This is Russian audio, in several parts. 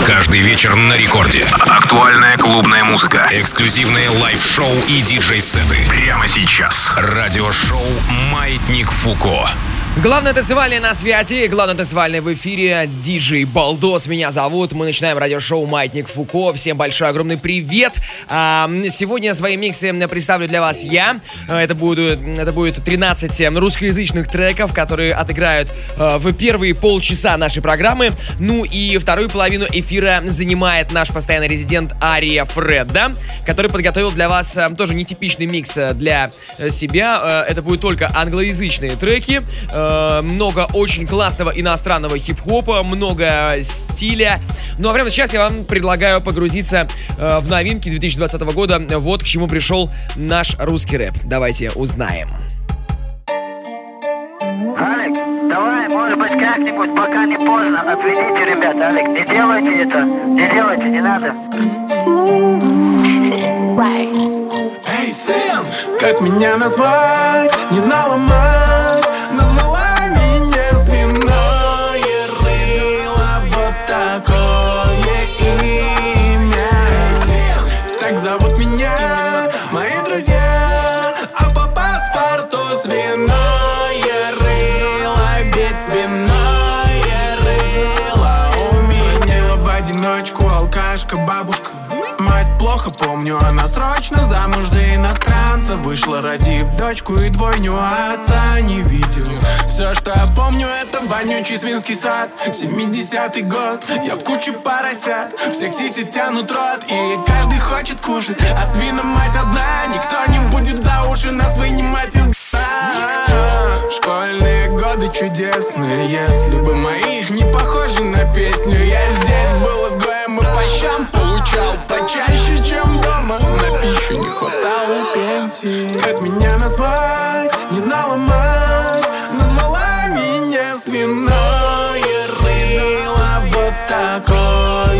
Каждый вечер на рекорде. Актуальная клубная музыка. Эксклюзивные лайв-шоу и диджей-сеты. Прямо сейчас. Радиошоу «Маятник Фуко». Главное танцевальное на связи, главное танцевальное в эфире. Диджей Балдос меня зовут. Мы начинаем радиошоу «Маятник Фуко». Всем большой огромный привет. Сегодня свои миксы представлю для вас я. Это будет 13 русскоязычных треков, которые отыграют в первые полчаса нашей программы. Ну и вторую половину эфира занимает наш постоянный резидент Ария Фредда, который подготовил для вас тоже нетипичный микс для себя. Это будут только англоязычные треки. Много очень классного иностранного хип-хопа, много стиля. Ну а прямо сейчас я вам предлагаю погрузиться в новинки 2020 года. Вот к чему пришел наш русский рэп. Давайте узнаем. Алик, давай, может быть, как-нибудь, пока не поздно, отведите ребят, Алик, не делайте это, не надо. Эй, сын, как меня назвать? Не знала мать, назвала меня свиное рыло, вот такое имя. Так зовут меня мои друзья, а по паспорту свиное рыло, ведь свиное рыло у меня. В одиночку алкашка, бабушка. Мать плохо помню, она срочно замуж за иностранца вышла, родив дочку и двойню, а отца не видел. Все, что я помню, это вонючий свинский сад, 70-й год, я в куче поросят, всех сиси тянут рот, и каждый хочет кушать, а свина мать одна, никто не будет за уши нас вынимать из г***а. Школьные годы чудесные, если бы моих не похожи на песню. Я здесь был изгоем и по щам получал почаще, чем дома. На пищу не хватало пенсии. Как меня назвать? Не знала мать, назвала меня свиное рыло, вот такое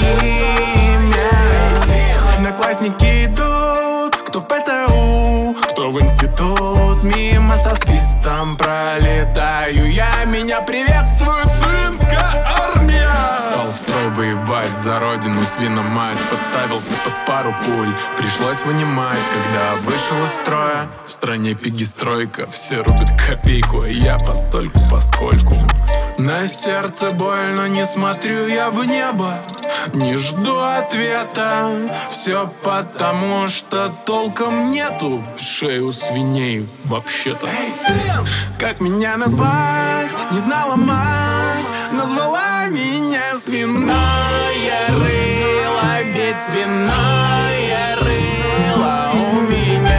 имя. Одноклассники идут, кто в ПТУ, кто в институт, мимо со свистом пролетаю я, меня приветствует свинская армия. Встал в строй воевать за родину, свиномать, подставился под пару пуль, пришлось вынимать, когда вышел из строя. В стране пегистройка, все рубят копейку, а я постольку поскольку. На сердце больно, не смотрю я в небо, не жду ответа. Все потому, что толком нету шею свиней вообще-то. Эй, сын, как меня назвать? Не знала мать, назвала меня свиное рыло, ведь свиное рыло у меня.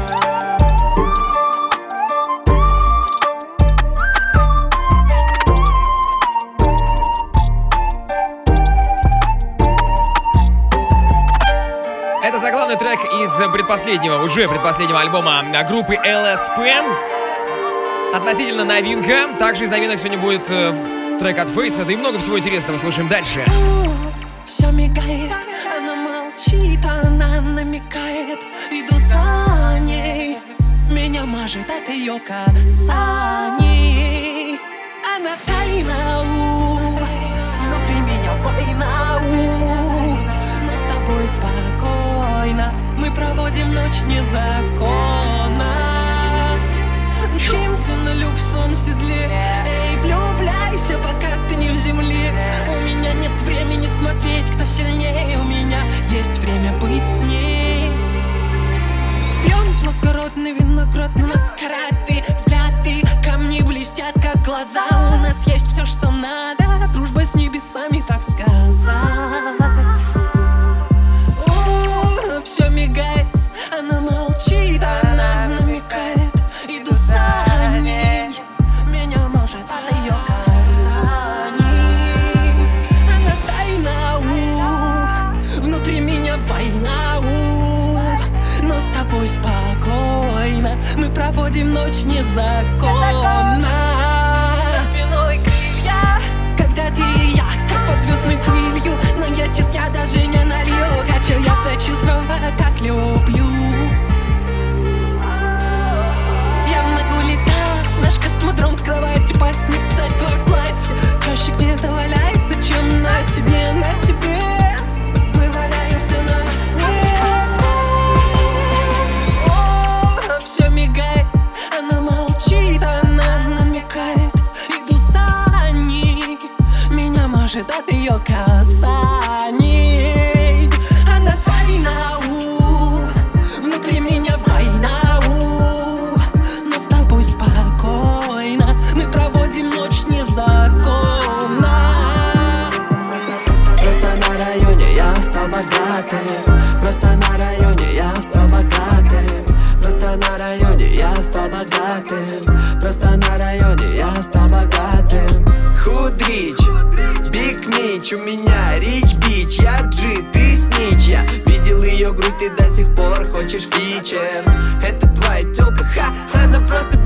Это заглавный трек из предпоследнего альбома группы LSP. Относительно новинка. Также из новинок сегодня будет трек от Фейса, да и много всего интересного. Слушаем дальше. Все мигает, она молчит, она намекает. Иду за ней, меня мажет от ее касаний. Она тайна, внутри меня война, но с тобой спокойно мы проводим ночь незаконно. Мчимся на люксом седле, эй, влюбляйся, пока ты не в земле. У меня нет времени смотреть, кто сильнее, у меня есть время быть с ней. Пьем благородный виноград, на нас караты, взгляды, камни блестят, как глаза. У нас есть все, что надо, дружба с небесами, так сказать. Все мигает, она молчит, она намекает. Иду за ней, меня может от ее касаний. Она тайна, внутри меня война, но с тобой спокойно мы проводим ночь незаконно. За спиной крылья, когда ты и я, как под звездной пылью. Но я чист, я даже не налью. Хочу ясно чувствовать, как люблю. Я много летал, наш космодром, кровати, пасть не встать, твое платье чаще где-то валяется, чем на тебе, на тебе. дрожит от ее касаний. Она тайна, внутри меня война, но с тобой спокойно мы проводим ночь незаконно. Просто на районе я стал богатым. Просто на районе я стал богатым. Просто на районе я стал богатым. Просто на районе я стал богатым. Худрич, Биг Мич, у меня Рич Бич. Я Джи, ты снич. Я видел ее грудь, ты до сих пор хочешь фичер. Это твоя тёлка, ха, она просто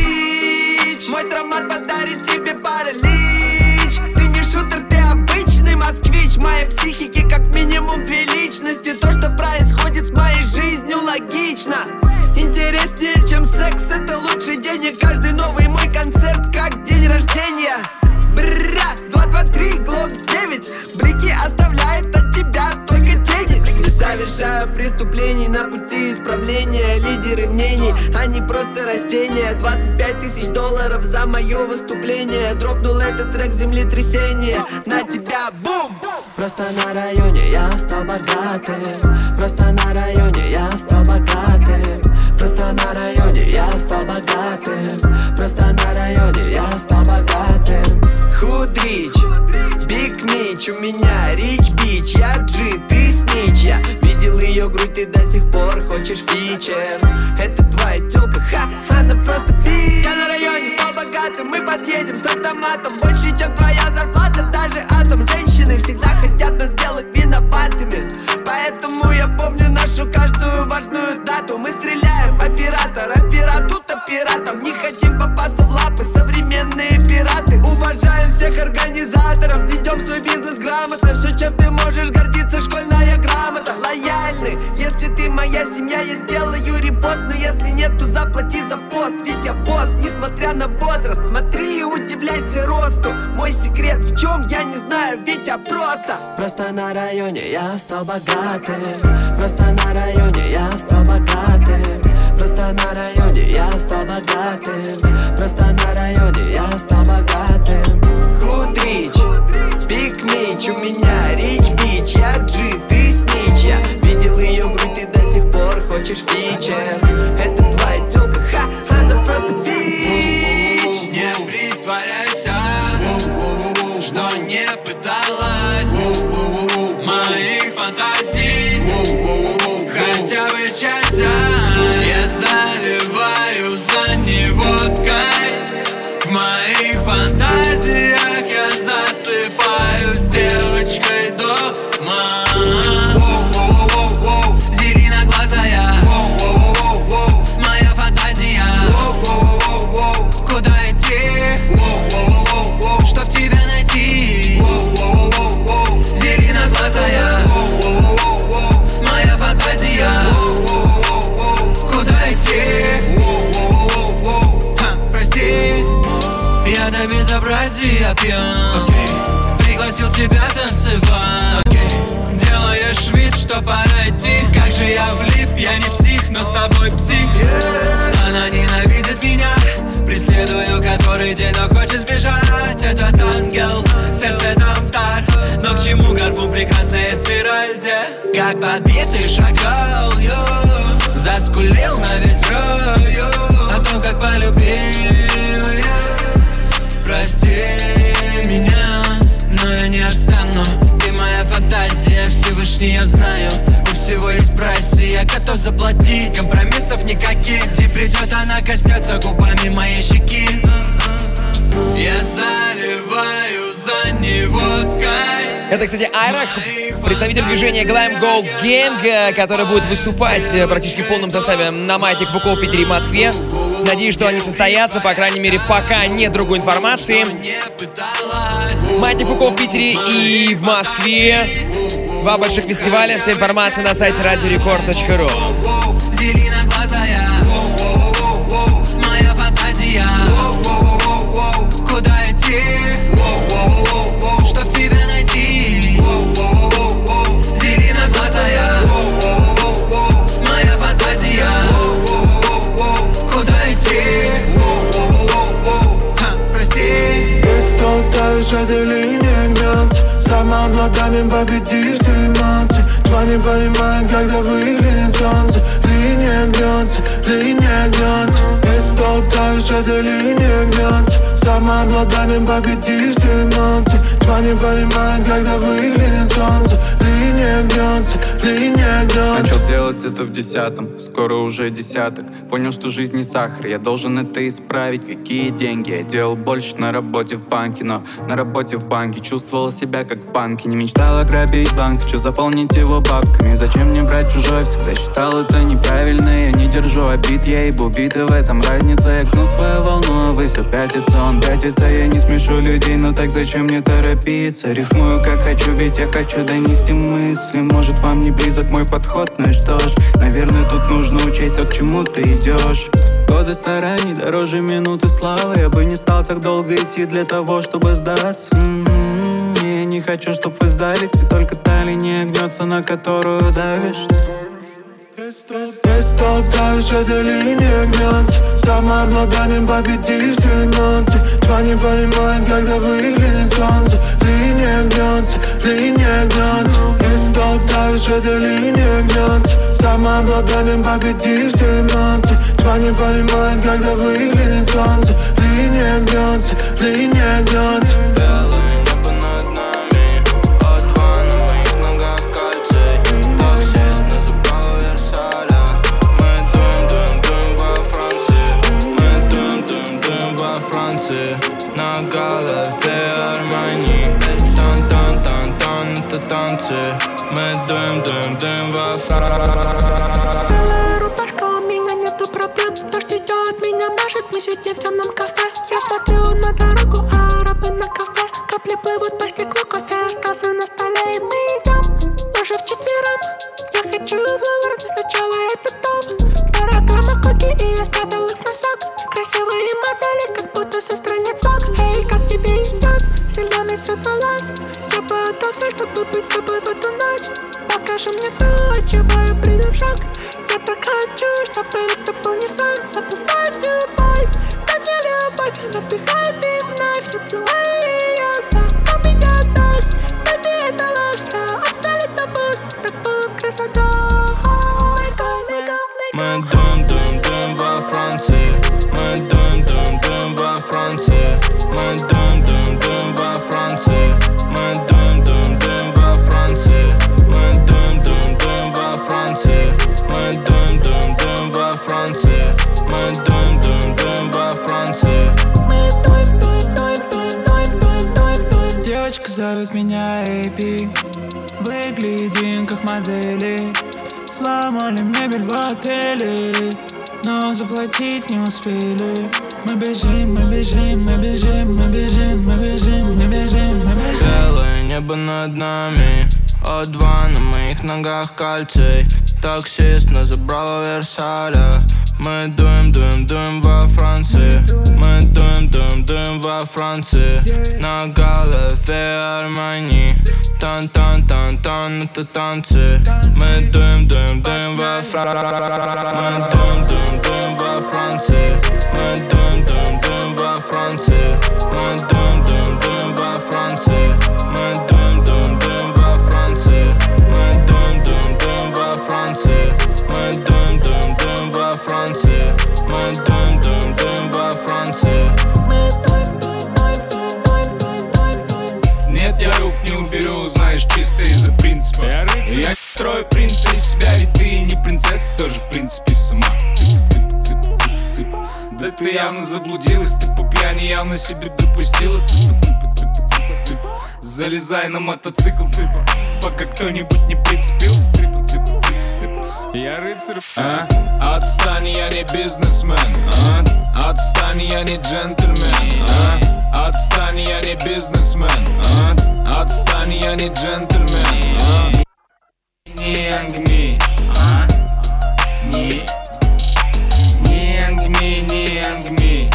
бич. Мой травмат подарит тебе паралич. Ты не шутер, ты обычный москвич. В моей психике как минимум две личности. То, что происходит с моей жизнью, логично. Интереснее, чем секс, это лучший день. И каждый новый мой концерт, как день рождения. Бра, 2, 2, 3, Глок 9. Блики оставляет от тебя только тени. Не совершаю преступлений на пути исправления. Лидеры мнений, они просто растения. 25 тысяч долларов за мое выступление. Дропнул этот трек землетрясение. На тебя бум! Просто на районе я стал богатым. Просто на районе я стал богатым. Просто на районе я стал богатым. Просто на районе я стал богатым. Худрич, Биг Мич, у меня Рич Бич. Я Джи, ты снич. Я видел ее грудь, ты до сих пор хочешь фичер. Это твоя тёлка, ха, она просто бич. Я на районе стал богатым, мы подъедем с автоматом. Больше, чем твоя зарплата, даже атом. Женщины всегда хотят нас сделать виноватыми. Поэтому я помню нашу каждую важную дату. Мы стреляем в оператора, пирату-то пиратом. Не хотим попасться в лапы современные пираты. Уважаем всех организаторов, ведем свой бизнес грамотно. Все, чем ты можешь гордиться, школьная грамота. Лояльны, если ты моя семья, я сделаю репост. Но если нет, то заплати за пост. Ведь я босс, несмотря на возраст. Смотри и удивляйся росту. Мой секрет в чем, я не знаю, ведь я просто. Просто на районе я стал богатым. Просто на районе я стал богатым. Просто на районе я стал богатым. Просто на районе я стал богатым. Худрич, Биг Мич, у меня Рич Бич. Я Джи, ты снич. Я видел ее грудь, ты до сих пор хочешь фичер. Это твоя тёлка, ха, она просто бич. Не притворяйся, что не пыталась моих фантазий хотя бы часть. Я заливаю за него кайф. В моих фантазиях я засыпаю с девочкой дома. Зеленоглазая, моя фантазия. Куда идти, чтоб тебя найти? Зеленоглазая, моя фантазия. Куда идти? Прости, я до безобразия пьян. Пригласил тебя танцевать. Делаешь вид, что пора идти. Как же я влип, я не псих, но с тобой псих. Она ненавидит меня, преследую который день, но хочет сбежать. Этот ангел, сердце там вдар. Но к чему горбун, прекрасная спираль, где как подбитый шакал, заскулил на весь район о том, как полюбил я. Прости меня, но я не отстану. Ты моя фантазия, Всевышний я знаю. У всего есть прайс, и я готов заплатить. Компромиссов никаких, где придет, она коснется губами моей щеки. Я заливаю за него кайф. Это, кстати, Айрах, представитель движения Glam Go Gang, который будет выступать практически в полном составе на Маятник Фуко в Питере и Москве. Надеюсь, что они состоятся, по крайней мере, пока нет другой информации. Маятник Фуко в Питере и в Москве. Два больших фестиваля. Вся информация на сайте radiorecord.ru. Зеленоглазая, моя фантазия. Куда идти, чтоб тебя найти? Зеленоглазая, моя фантазия. Куда идти? Прости. Без толкаешь этой линии. гнется, самообладанием победив все эмоции. Тьма не понимает, когда выглянет солнце. Линия гнется, если толк давишь, эта линия гнется, самообладанием победив все эмоции. Тьма не понимает, когда выглянет солнце. Линия гнется. Начал делать это в 10-м, скоро уже десяток. Понял, что жизнь не сахар, я должен это исправить. Какие деньги, я делал больше на работе в банке. Но на работе в банке чувствовал себя как в банке. Не мечтал ограбить банк, хочу заполнить его бабками. Зачем мне брать чужой, всегда считал это неправильно. Я не держу обид, я ибо убитый, в этом разница. Я гнул свою волну, а вы все пятится, он пятится. Я не смешу людей, но так зачем мне торопиться? Рифмую как хочу, ведь я хочу донести мысли. Может, вам не близок мой подход, ну и что ж, наверное, тут нужно учесть то, к чему ты идешь. Годы стараний дороже минуты славы. Я бы не стал так долго идти для того, чтобы сдаться. Я не хочу, чтоб вы сдались, ведь только та линия гнется, на которую давишь. Если толк давишь, эта линия гнется, самообладанием победив все эмоции. Тьма не понимает, когда выглянет солнце. Линия гнется, если толк давишь, эта линия гнется, самообладанием победив все эмоции. Тьма не понимает, когда выглянет солнце. Линия гнется. Белое небо над нами, от два на моих ногах кольцей. Такси нас забрало Версаля. Мы дуем во Франции. Мы дуем во Франции. На голове Армани. Тан-тан-тан-тан, это танцы. Мы дуем во Франции. Белая рубашка, у меня нету проблем. Дождь идет, меня мажет, мы сидим в темном кафе. Я смотрю на дорогу, а арабы на кафе. Капли плывут по стеклу, кофе остался на столе. И мы идем уже вчетвером. Я хочу в Лувр, но сначала это дом. Параграмма коки, и я спрятал их в носок. Красивые модели, как будто со страниц вок. Эй, как тебе идет? Зеленый цвет волос. Я бы отдал все, чтобы быть с тобой в эту ночь. Покажи мне то, от чего я приду в шок. Я так хочу, чтобы это был не сон. Забывай всю боль, дай мне любовь. Она вдыхает и вновь я целую ее. За окном идет дождь, baby, это ложь. Я абсолютно пуст, так полон красотой. Мы дуем во Франции. Мы дуем во Франции. Мы дуем во Франции. Мы дуем во Франции. Мы дуем во Франции. Мы дуем во Франции. Мы дуем во Франции. Девочка зовет меня Эйпи. Выглядим как модели. Сломали мебель в отеле, но заплатить не успели. Мы бежим. Белое небо над нами, от два на моих ногах кольцей. Таксист нас забрал Версаля. Мы дуем во Франции. Мы дуем во Франции. На голове Армани. Тан-тан-тан-тан, это танцы. Мы дуем во Франции. Мы дуем во Франции. Мы дуем во Франции. Мы дуем во Франции. Мы дуем во Франции. Мы дуем во Франции. Мы дуем во Франции. Мы дуем во Франции. Нет, я рук не уберу, знаешь, чисто из-за принципа. Я не строю принца из себя, ведь ты не принцесса, тоже в принципе сама. Цып. Да ты явно заблудилась, ты по пьяни явно себе допустила. Цып. Залезай на мотоцикл, цыпа, пока кто-нибудь не прицепился. Цып. Я рыцарь, Отстань, я не бизнесмен, Отстань, я не джентльмен, Отстань, я не бизнесмен, Отстань, я не джентльмен. Не ангми, не ангми, не ангми,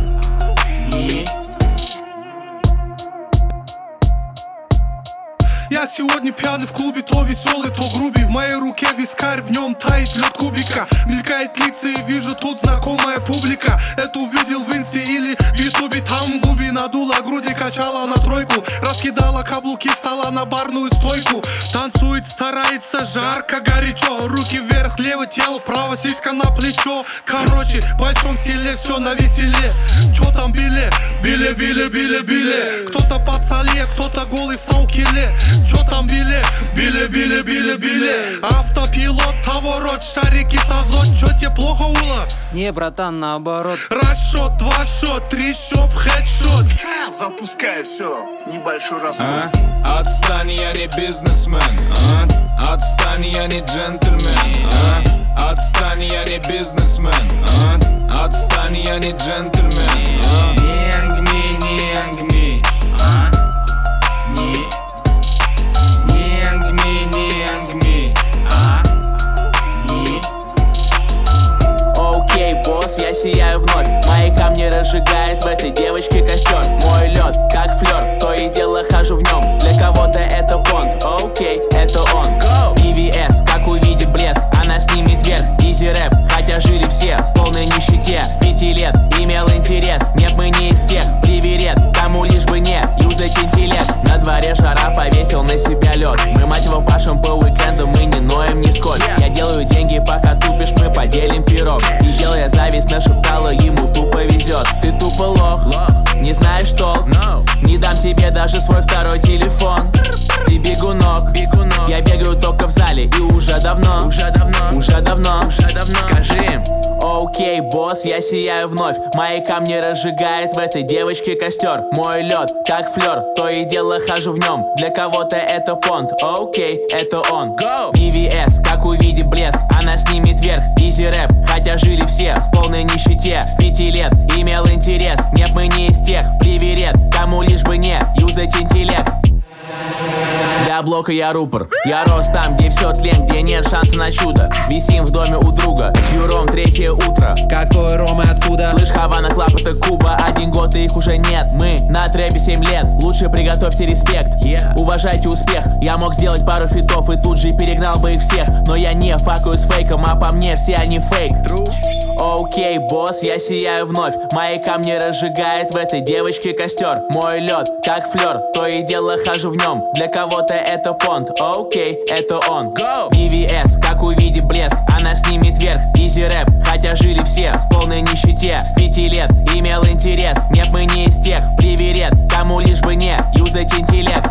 не. Я сегодня пьяный в клубе, то веселый, то грубый. В моей руке вискарь, в нем тает лед кубика. Мелькает лица и вижу тут знакомая публика. Это увидел в инсте или в ютубе. Там в губи надула груди, качала на тройку. Раскидала каблуки, стала на барную стойку. Танцует, старается, жарко, горячо. Руки вверх, левое тело, право сиська на плечо. Короче, в большом селе все на веселе. Чё там били? Били, били, били, били. Кто-то под соле, кто-то голый в саукеле. Чё там били? Били, били, били, били. Автопилот, того рот, шарики с азот. Чё тебе плохо было? Не, братан, наоборот. Раз шот, два шот, три шоп, хедшот. Запускай все, небольшой расход. Отстань, я не бизнесмен. Отстань, я не джентльмен. Отстань, я не бизнесмен. Отстань, я не джентльмен. Не ангми, не ангми. Не ангми, не ангми. Окей, босс, я сияю вновь. Мои камни разжигает в этой девочке костер. Мой лед, как флер, то и дело хожу в нем. Для кого-то это понт, окей, это он. BVS, как увидит блеск, она снимет вверх. Изи рэп, хотя жили все в полной нищете. С 5 лет имел интерес, нет, мы не из тех. Приверет, кому лишь бы не юзать интеллект. На дворе жара, повесил на себя лед. Мы, мать его, пашем по уикендам, мы не ноем нисколько. Я делаю деньги, пока тупишь, мы поделим пирог. И делая зависть, нашептала, ему тупо везет. Ты тупо лох, не знаешь толк. Не дам тебе даже свой второй телефон. Ты бегунок, я бегаю только в зале. И уже давно. Скажи им. Окей, босс, я сияю вновь. Мои камни разжигает в этой девочке костер. Мой лед, как флер, то и дело хожу в нем. Для кого-то это понт, окей, это он. BVS, как увидит блеск, она снимет вверх. Изи рэп, хотя жили все в полной нищете. С 5 лет имел интерес, нет, мы не из тех. Приверет, кому лишь бы не юзать интеллект. Для блока я рупор. Я рос там, где все тлен, где нет шанса на чудо. Висим в доме у друга, пью ром, 3 утро. Какой ром и откуда? Слышь, Хавана, Клаб, это Куба. 1 год и их уже нет. Мы на трэпе 7 лет. Лучше приготовьте респект. Уважайте успех. Я мог сделать пару фитов и тут же перегнал бы их всех. Но я не факаю с фейком, а по мне все они фейк. Окей, босс, я сияю вновь. Мои камни разжигает в этой девочке костер. Мой лед, как флер, то и дело хожу в нем. Для кого-то это понт, окей, это он. BVS, как увидит блеск, она снимет вверх. Изи рэп, хотя жили все в полной нищете. С 5 лет имел интерес, нет, мы не из тех. Приверет, кому лишь бы не юзать интеллект.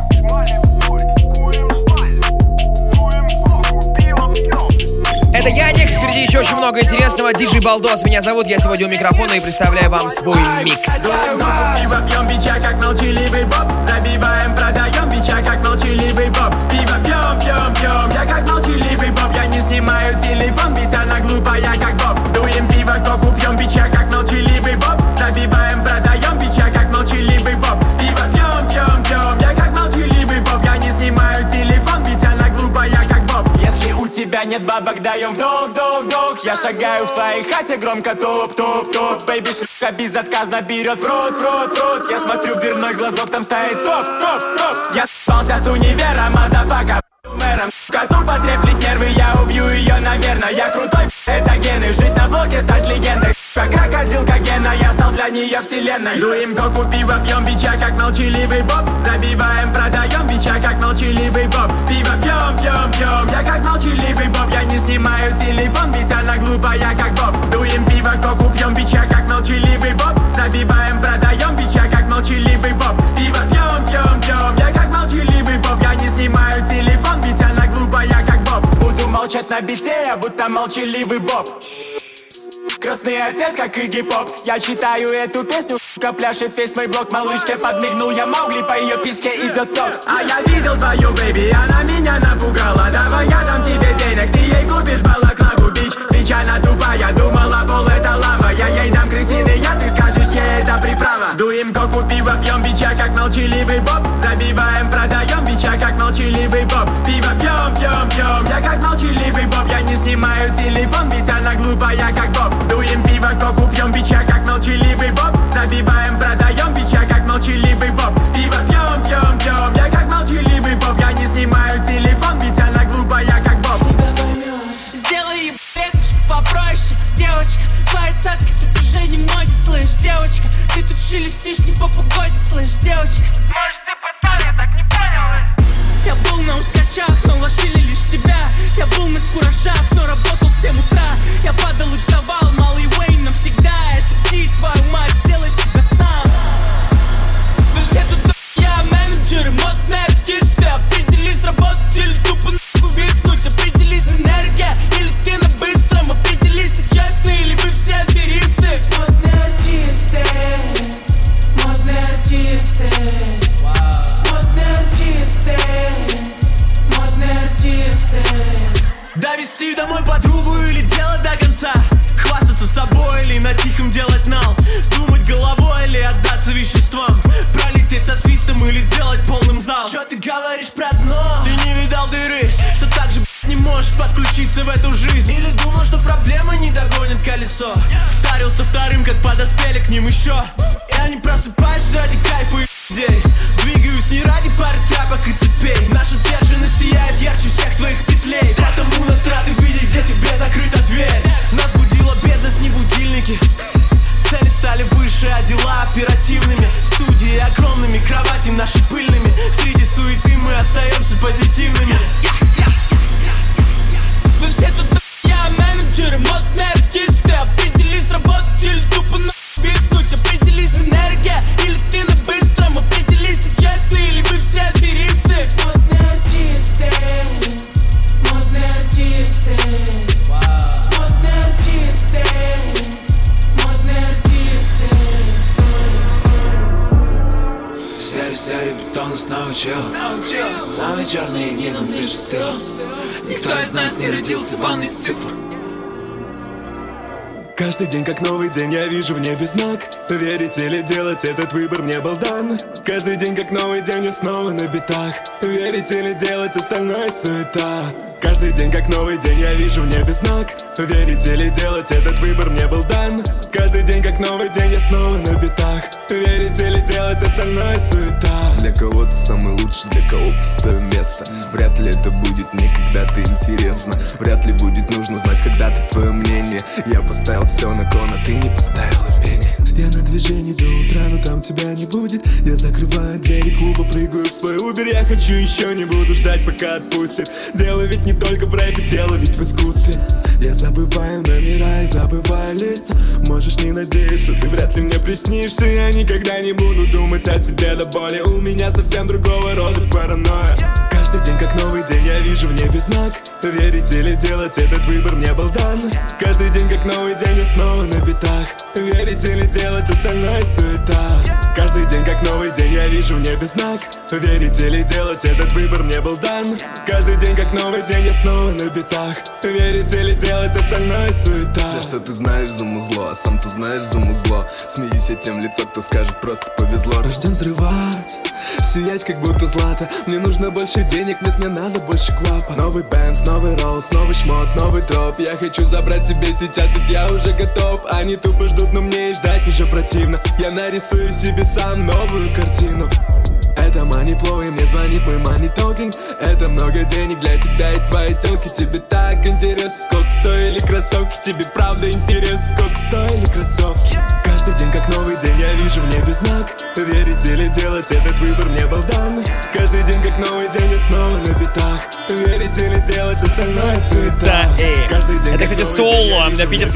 Это Яникс, впереди еще очень много интересного. Диджей Балдос меня зовут, я сегодня у микрофона и представляю вам свой микс. Пиво пьем, бича, как молчаливый боб. Забиваем, продаем, бича, как молчаливый боб. Пиво пьем, пьем, пьем, я как молчаливый боб. Я не снимаю телефон, ведь она глупая, как боб. Дуем пиво, коку пьем, бича, как молчаливый боб. Забиваем, продаем, бича, как молчаливый боб. Пиво пьем, пьем, пьем, я как молчаливый боб. Я не снимаю телефон, ведь она глупая, как боб. Если у тебя нет бабок, даем вдох, вдох, вдох. Я шагаю в твоей хате, громко топ, топ, топ. Бэйби, шлюха безотказно берет в рот, в рот, в рот. Я смотрю в дверной глазок, там стоит коп, коп, коп. Я с***ался с универа, мазафака. Мэром, тупо треплет нервы, я убью ее, наверное. Я крутой, это гены. Жить на блоке, стать легендой. Как крокодил, как Гена, я стал для нее вселенной. Дуем коку, пиво, пьем, бича, как молчаливый боб. Забиваем, продаем, бича, как молчаливый боб. Пиво пьем, пьем, пьем, я как молчаливый боб. Я не снимаю телефон, ведь она глупая, как боб. Дуем пиво, коку, пьем, бича, как молчаливый боб. Забиваем, продаем, бича, как молчаливый боб. Пиво пьем, пьем, пьем, я как молчаливый боб. Я не снимаю телефон, ведь она глупая, как боб. Буду молчать на бите, я будто молчаливый боб. Крестный отец, как Игги Поп. Я читаю эту песню, пляшет весь мой блок. Малышке подмигнул я Маугли, по ее писке идет ток. А я видел твою бэйби, она меня напугала. Давай я дам тебе денег, ты ей купишь балаклаву, бич. Бич, она тупая, думала, пол это лава. Я ей дам крысиный яд, ты скажешь, ей это приправа. Дуем коку, пиво, пьем, бича, как молчаливый боб. Забиваем, продаем, бича, как молчаливый боб. Пиво пьем, пьем, пьем, я как молчаливый боб. Я не снимаю телефон, ведь она глупая, как боб. Дуем пиво, коку, пьем, бича, как молчаливый боб. Забиваем, продаем, бича, как молчаливый боб. Пиво пьем, пьем, пьем, я как молчаливый боб. Я не снимаю шелестишь не по погоде, слышь, девочка. Может, ты пацан, я так не понял. Я был на ускачах, но лошили лишь тебя. Я был на куражах, но работал в 7 утра. Я падал и вставал, малый Уэйн навсегда. Это ти, твою мать, сделай себя сам. Вы все тут я менеджеры, модные артисты. Определись, работать или тупо нахуй виснуть. Определись, энергия или ты на быстром. Определись, ты честный или вы все аферисты. Модные артисты, модные артисты, модные артисты, модные артисты. Довести домой подругу или делать до конца. Хвастаться собой или на тихом делать нал. Думать головой или отдаться веществам. Пролететь со свистом или сделать полным зал. Чё ты говоришь про дно? Ты не видал дыры, что так же не можешь подключиться в эту жизнь. Или думал, что проблемы не догонят колесо. Вдарился вторым, как подоспели к ним еще. Я не просыпаюсь ради кайфа и идей. Двигаюсь не ради пары тряпок и цепей. Наша сдержанность сияет ярче всех твоих петлей. Потому нас рады видеть, где тебе закрыта дверь. Нас будила бедность, не будильники. Цели стали выше, а дела оперативными. Студии огромными, кровати наши пыльными. Среди суеты мы остаемся позитивными. Вы все тут я менеджеры, модные артисты. Определись, работать или тупо виснуть. Определись, энергия или ты на быстром. Определись, ты честный или вы все аферисты. Модные артисты, модные артисты, модные артисты, модные артисты. Серый бетон нас научил. Самые черные дни нам лишь стыл. Никто из нас не родился в ванной с цифр. Каждый день как новый день, я вижу в небе знак. Верить или делать, этот выбор мне был дан. Каждый день как новый день, я снова на битах. Верить или делать, остальное суета. Каждый день как новый день, я вижу в небе знак. Верить или делать, этот выбор мне был дан. Каждый день как новый день, я снова на битах. Верить или делать, остальное суета. Для кого-то самый лучший, для кого пустое место. Вряд ли это будет мне когда-то интересно. Вряд ли будет нужно знать когда-то твое мнение. Я поставил все на кон, а ты не поставила пени. Я на движении до утра, но там тебя не будет. Я закрываю двери клуба, прыгаю в свой Uber. Я хочу еще, не буду ждать, пока отпустит. Дело ведь не только в рэпе, дело ведь в искусстве. Я забываю номера и забываю лица. Можешь не надеяться, ты вряд ли мне приснишься. Я никогда не буду думать о тебе до боли. У меня совсем другого рода паранойя. Каждый день как новый день, я вижу в небе знак. Верить или делать, этот выбор мне был дан. Каждый день как новый день, я снова на битах. Верить или делать, остальное суета. Каждый день как новый день, я вижу в небе знак. Верить или делать, этот выбор мне был дан. Каждый день как новый день, я снова на битах. Верить или делать, остальное суета. Да что ты знаешь за музло, а сам ты знаешь за музло. Смеюсь я тем лицо, кто скажет просто повезло. Рожден взрывать, сиять как будто злато. Мне нужно больше денег, нет, мне надо больше квапа. Новый Бенц, новый Роллс, новый шмот, новый топ. Я хочу забрать себе сейчас, ведь я уже готов. Они тупо ждут, но мне и ждать уже противно. Я нарисую себе сам новую картину. Это money flow, и мне звонит мой money talking. Это много денег для тебя и твоей тёлки. Тебе так интересно, сколько стоили кроссовки. Тебе правда интересно, сколько стоили кроссовки. Каждый день как новый день, я вижу в небе знак. Верить или делать, этот выбор мне был дан. Каждый день как новый день, я снова на битах. Верить или делать, остальное суета. Это, кстати, соло,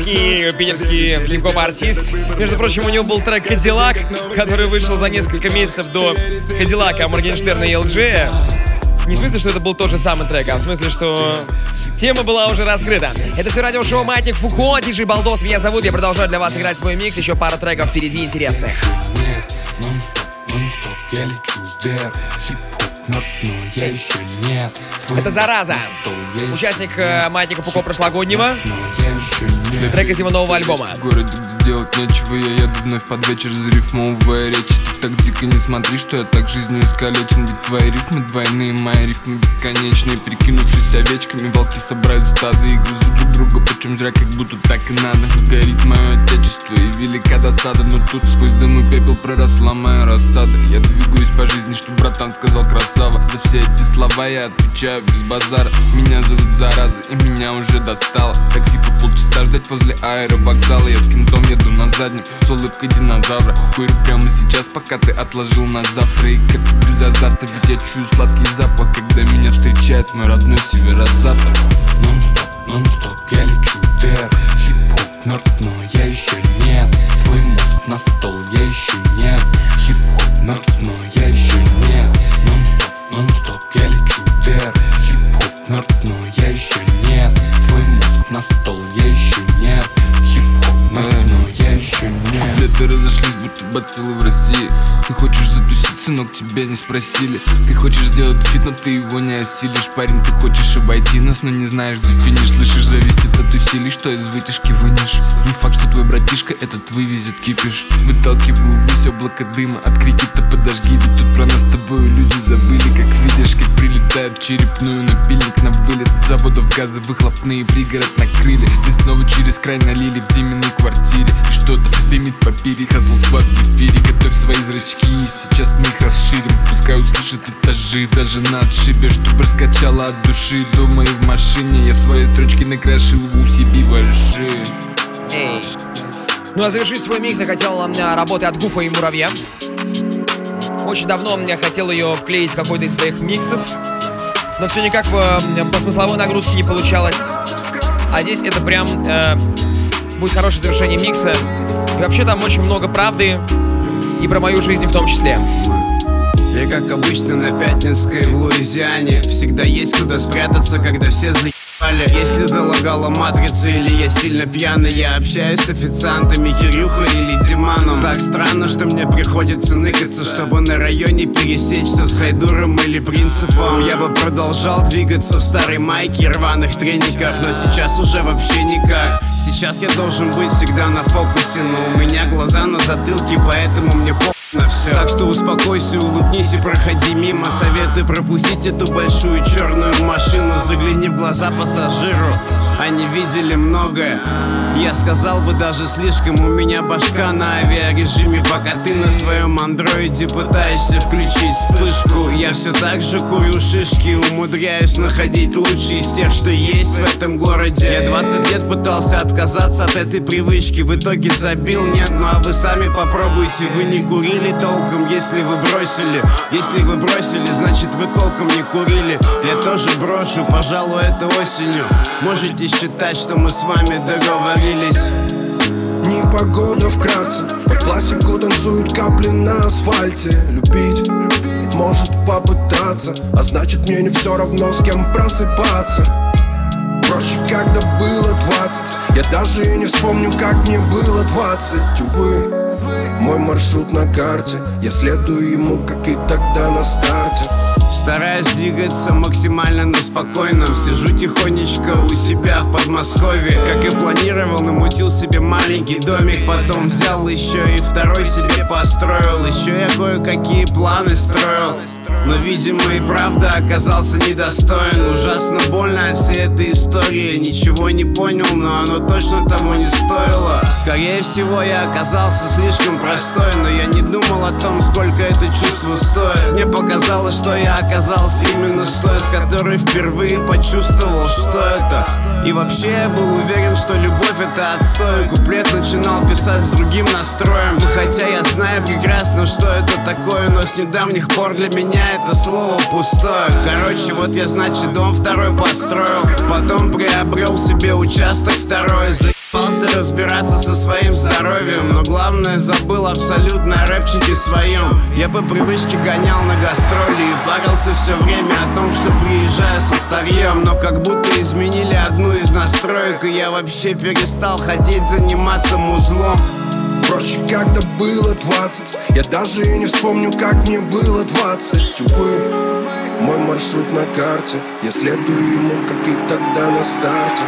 питерский флип-хоп артист. Между прочим, у него был трек «Кадиллак», который вышел за несколько месяцев до «Кадиллака» Моргенштерна и LG. Не в смысле, что это был тот же самый трек, а в смысле, что тема была уже раскрыта. Это все радиошоу «Маятник Фуко», диджей Балдос меня зовут. Я продолжаю для вас играть свой микс. Еще пару треков впереди интересных. Я лечу вверх, хип-хоп мертв, но я еще нет. Это «Зараза», участник «Маятника Фуко» прошлогоднего. Трек из его нового альбома. В городе, где делать нечего, я еду вновь под вечер, зарифмовывая речи. Ты так дико не смотри, что я так жизнью искалечен. Ведь твои рифмы двойные, мои рифмы бесконечные. Перекинувшись овечками, волки собрали стадо и грызут друг друга, почем зря, как будто так и надо. Горит мое отечество и велика досада, но тут сквозь дым и пепел проросла моя рассада. Я двигаюсь по жизни, что братан сказал красава. За все эти слова я отвечаю отвечаю без базара. Меня зовут Зараза, и меня уже достало. Такси по полчаса ждать возле аэровокзала. Я с кентом еду на заднем, с улыбкой динозавра. Курю прямо сейчас, пока ты отложил на завтра. И как без азарта, ведь я чую сладкий запах, когда меня встречает мой родной северо-запад. Нон-стоп, я лечу вверх. Хип-хоп мертв, но я еще нет. Твой мозг на стол, я еще нет. Хип-хоп мертв, но я еще нет. Нон-стоп, я лечу вверх. Хип-хоп мертв, но я еще нет. Твой мозг на стол, я еще нет. Хип-хоп мертв, но я еще нет. Где-то разошлись, будто бациллы в России. Ты хочешь затусить, сынок, тебя не спросили. Ты хочешь сделать фит, но ты его не осилишь. Парень, ты хочешь обойти нас, но не знаешь, где финиш. Слышишь, зависит от усилий, что из вытяжки вынешь. Не факт, что твой братишка этот вывезет кипиш. Выталкиваю ввысь облако дыма, от крики-то подожги. Ведь тут про нас с тобой люди забыли. Как видишь, как прилетает в черепную, напильник на вылет. Заводов газы выхлопные, пригород накрыли. Веснову через край налили в Диминой квартире. И что-то дымит по пире, хазл сквад в эфире. Готовь свои зрачки, и сейчас мы их расширим. Пускай услышат этажи, даже на отшибе, чтоб раскачала от души. Думаю, в машине я свои строчки накрашил у себе большие. Эй. Ну а завершить свой микс я хотел работы от Гуфа и Муравья. Очень давно я хотел ее вклеить в какой-то из своих миксов, но все никак по смысловой нагрузке не получалось. А здесь это прям будет хорошее завершение микса. И вообще там очень много правды, и про мою жизнь в том числе. Я как обычно на Пятницкой в Луизиане. Всегда есть куда спрятаться, когда все заебали. Если залагала матрица или я сильно пьяный, я общаюсь с официантами Кирюхой или Диманом. Так странно, что мне приходится ныкаться, чтобы на районе пересечься с Хайдуром или Принципом. Я бы продолжал двигаться в старой майке и рваных трениках, но сейчас уже вообще никак. Сейчас я должен быть всегда на фокусе, но у меня глаза на затылке, поэтому мне на все. Так что успокойся, улыбнись и проходи мимо. Советую пропустить эту большую черную машину. Загляни в глаза пассажиру, они видели многое. Я сказал бы даже слишком. У меня башка на авиарежиме, пока ты на своем андроиде пытаешься включить вспышку. Я все так же курю шишки, умудряюсь находить лучшие из тех, что есть в этом городе. Я 20 лет пытался отказаться от этой привычки, в итоге забил. Нет, ну а вы сами попробуйте. Вы не курили толком, если вы бросили. Если вы бросили, значит вы толком не курили. Я тоже брошу, пожалуй, это осенью. Можете считать, что мы с вами договорились. Непогода вкратце, под классику танцуют капли на асфальте. Любить может попытаться, а значит мне не все равно, с кем просыпаться. Проще, когда было 20. Я даже и не вспомню, как мне было 20. Увы, мой маршрут на карте, я следую ему, как и тогда на старте. Стараюсь двигаться максимально на спокойном. Сижу тихонечко у себя в Подмосковье. Как и планировал, намутил себе маленький домик. Потом взял еще и второй себе построил. Еще я кое-какие планы строил, но, видимо, и правда оказался недостоин. Ужасно больно от всей этой истории. Ничего не понял, но оно точно того не стоило. Скорее всего, я оказался слишком простой, но я не думал о том, сколько это чувство стоит. Мне показалось, что я оказался именно с той, с которой впервые почувствовал, что это. И вообще я был уверен, что любовь это отстой. Куплет начинал писать с другим настроем. И хотя я знаю прекрасно, что это такое, но с недавних пор для меня это слово пустое. Короче, вот я, значит, дом второй построил. Потом приобрел себе участок второй. Заебался разбираться со своим здоровьем, но главное забыл абсолютно о рэпчике своем. Я по привычке гонял на гастроли и парился все время о том, что приезжаю со старьем. Но как будто изменили одну из настроек, и я вообще перестал хотеть заниматься музлом. Проще, когда было 20. Я даже и не вспомню, как мне было 20. Увы, мой маршрут на карте, я следую ему, как и тогда на старте.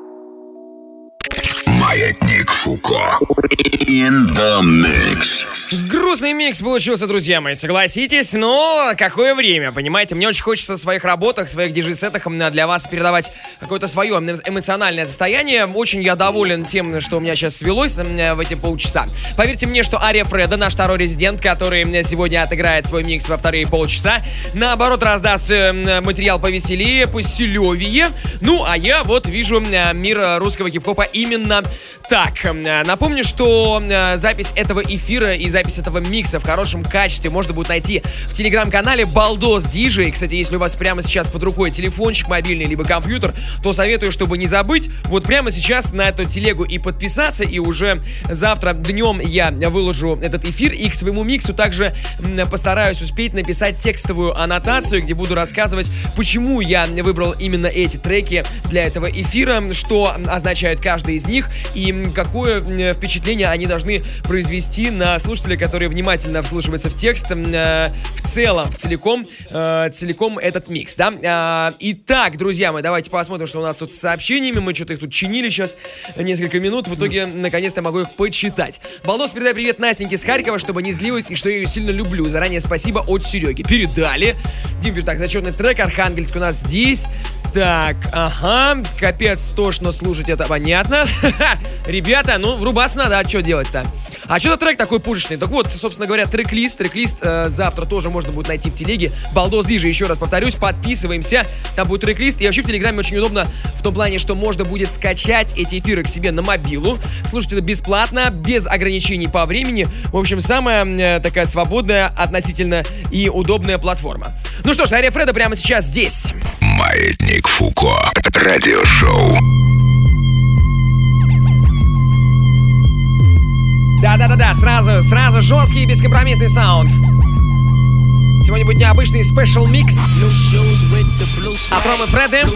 Маятник Фуко. In the mix. Грустный микс получился, друзья мои, согласитесь, но какое время, понимаете? Мне очень хочется в своих работах, в своих диджей-сетах для вас передавать какое-то свое эмоциональное состояние. Очень я доволен тем, что у меня сейчас свелось в эти полчаса. Поверьте мне, что Ария Фреда, наш второй резидент, который сегодня отыграет свой микс во вторые полчаса, наоборот, раздаст материал повеселее, посилевее. Ну, а я вот вижу мир русского хип-хопа именно так. Напомню, что запись этого эфира и запись этого микса в хорошем качестве можно будет найти в телеграм-канале Балдос Диджей. Кстати, если у вас прямо сейчас под рукой телефончик мобильный либо компьютер, то советую, чтобы не забыть, вот прямо сейчас на эту телегу и подписаться, и уже завтра днем я выложу этот эфир, и к своему миксу также постараюсь успеть написать текстовую аннотацию, где буду рассказывать, почему я выбрал именно эти треки для этого эфира, что означает каждый из них и какое впечатление они должны произвести на слушателей, которые внимательно вслушиваются в текст, в целом, целиком этот микс, да? Итак, друзья мои, давайте посмотрим, что у нас тут с сообщениями. Мы что-то их тут чинили сейчас несколько минут. В итоге, наконец-то, могу их почитать. Балдос, передай привет Настеньке с Харькова, чтобы не злилась и что я ее сильно люблю. Заранее спасибо от Сереги. Передали. Дим, так, зачетный трек. Архангельск у нас здесь. Так, ага, капец, тошно слушать, это понятно. Ребята, ну, врубаться надо, а что делать-то? А что-то трек такой пушечный. Так вот, собственно говоря, трек-лист завтра тоже можно будет найти в телеге. Балдос Диджей, еще раз повторюсь, подписываемся. Там будет трек-лист. И вообще в Телеграме очень удобно в том плане, что можно будет скачать эти эфиры к себе на мобилу. Слушать это бесплатно, без ограничений по времени. В общем, самая такая свободная, относительно и удобная платформа. Ну что ж, Ария Фреда прямо сейчас здесь. Маятник Фуко. Радиошоу. Да-да-да-да, сразу жесткий и бескомпромиссный саунд. Сегодня будет необычный спешл микс от Ромы Фреды.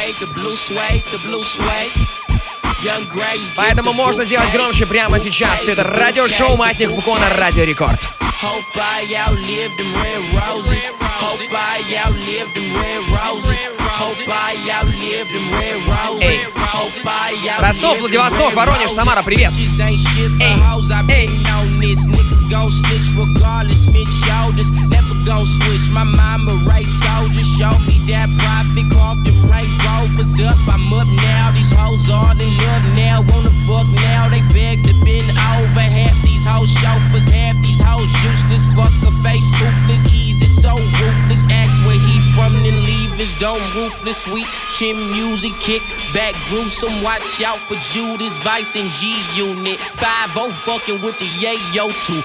Поэтому можно делать громче прямо сейчас. Все это радиошоу «Маятник Фуко» на Радио Рекорд. Hope I outlive them red roses. Hope I outlive them red roses. Hope I outlive them red roses. Hope I outlive Ростов, Владивосток, Воронеж, Самара, привет. Эй, эй. Niggas gon' snitch regardless, mid shoulders. Never gon' switch. My mama right soldier. Show me that profit. Carved the right rovers up. I'm up now. These hoes all in love now. Wanna fuck now. They beg to bend over. Half these hoes chauffeurs. Half these hoes useless. Fuck a face toothless. Easy, so ruthless. Ask where he from, then leave his dome roofless. Sweet chin music, kick back gruesome. Watch out for Judas, Vice and G-Unit. 5-0 fucking with the Yayo 2.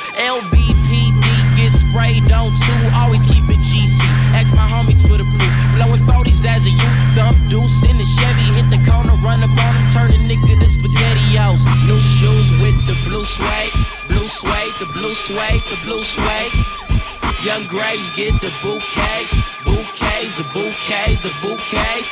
LBPD get sprayed on 2. Always keep it GC. Ask my homies for the proof. Blowing 40s as a youth. Dump deuce in the Chevy. Hit the corner, run up on him. Turn a nigga to SpaghettiOs. New shoes with the blue suede. Blue suede, the blue suede, the blue suede. Young Graves get the bouquets. Bouquets, the bouquets, the bouquets.